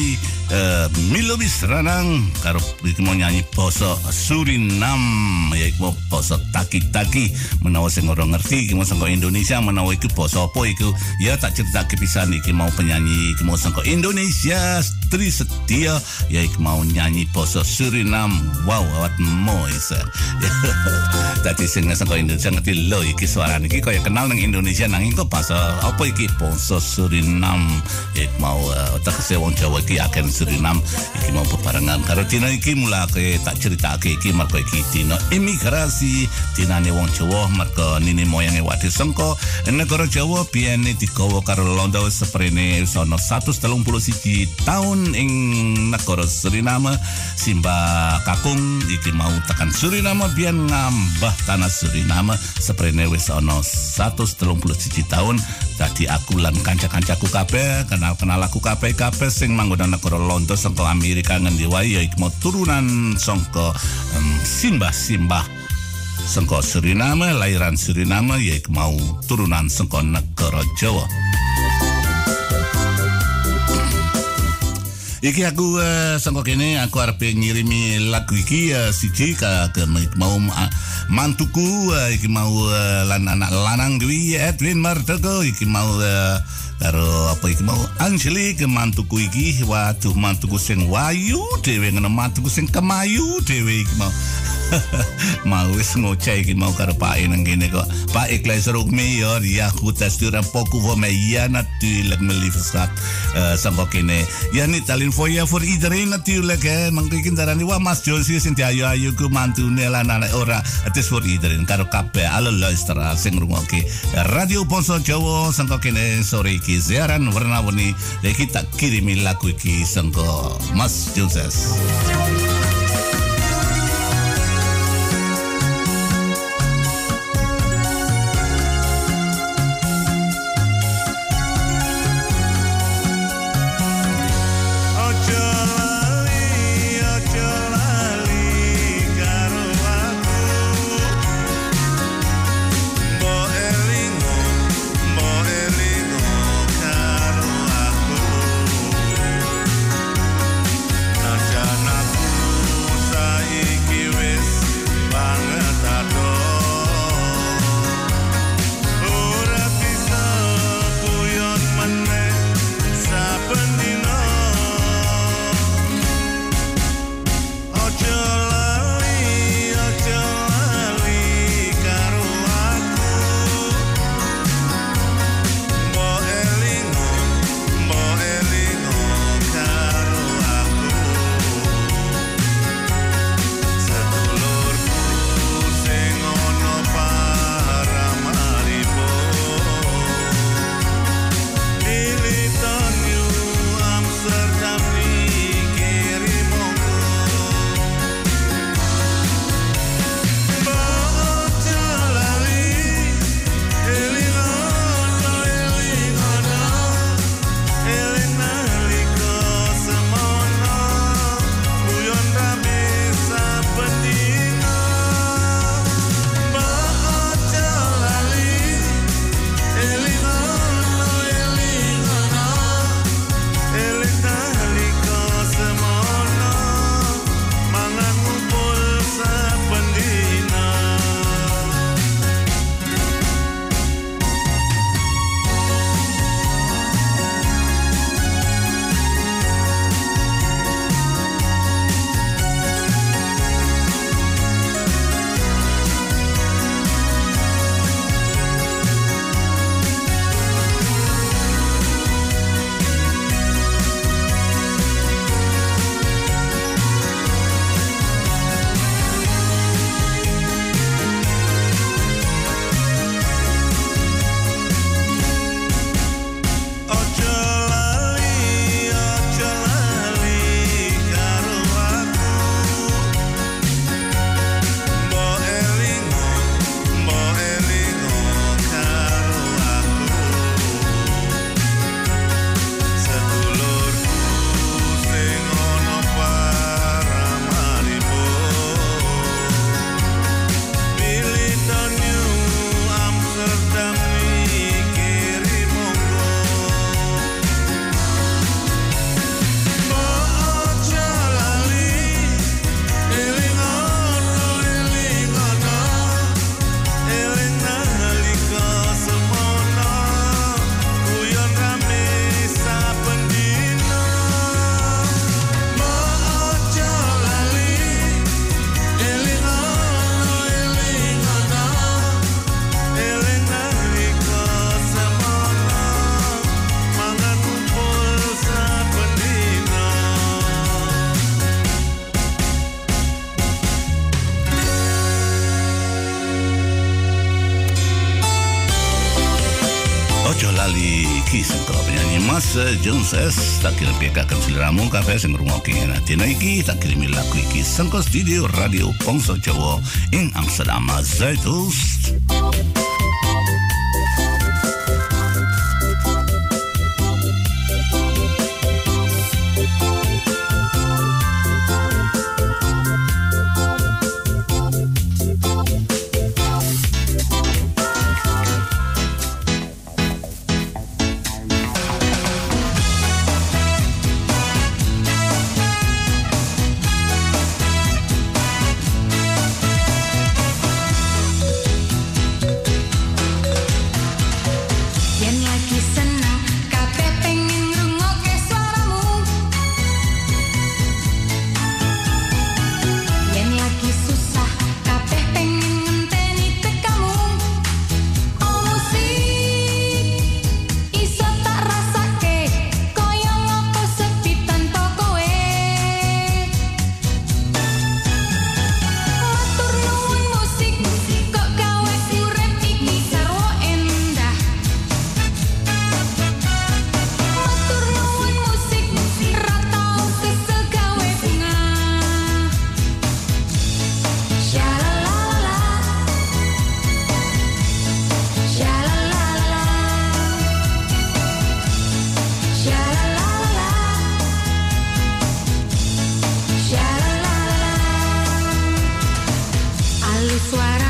uh, Milo Bisranang karo iki mau nyanyi basa Suriname ya iku basa taki-taki menawa sing ora ngerti iki mau saka Indonesia menawa iku basa apa iku ya tak critake pisan iki mau penyanyi iki mau saka Indonesia Tri Setia ya iku mau nyanyi basa Suriname wow awat mois dadi sing saka Indonesia ngerti lho iki suarane iki kaya kenal nang Indonesia nanging kok basa apa iki basa Suriname ya iku mau uh, tak wong Jawa iki akan Suriname iki mau bebarengan karo dina iki mulake tak critakake iki mergo iki dina imigrasi dinane wong Jawa mergo nini moyange wadi sengko negara Jawa biyene digawa karo Londo seprene sono seratus telung puluh siji tahun ing negara Suriname Simba Kakung iki mau tekan Suriname biyen ngambah tanah Suriname seprene wis ana seratus telung puluh siji tahun dadi aku lan kanca-kancaku kabeh kenal-kenal aku kabeh-kabeh sing manggon negara Londo saka Amerika ngendi wae ya iku mau turunan saka um, simbah-simbah saka Suriname lairan Suriname ya iku mau turunan saka negara Jawa. Iki aku uh, sangko kene aku arep ngirimi lagu iki uh, siji ka ke mau uh, mantuku uh, iki mau uh, lan anak lanang Dwi Edwin Martoko iki mau uh, karo apa iki mau Angeli ke mantuku iki waduh mantuku sing wayu dhewe ngene mantuku sing kemayu dhewe iki mau mau wis ngoceh iki mau karo Pak nang kene kok Pak ik luister ook mee hoor ja goed dat stuur een pokoe voor mij ja natuurlijk mijn lieve schat uh, sangko kene ja niet alleen voor jou voor iedereen natuurlijk hè mangkin darani wah Mas Josie sing ayo ayo ku mantune lan anak ora het is voor iedereen karo kabeh alle luisteraars sing ngrungokke Radio Bangsa Jawa sangko kene sore iki siaran warna-warni kita kirimi lagu iki sangko Mas Josie. Najan aku iki sangka penyanyi Mas Jones S tak kirim pekakan seliramu kafe sing ngrungokke dina iki tak kirimi lagu iki sangka studio Radio Bangsa Jawa ing Amsterdam Zuidoost. Suara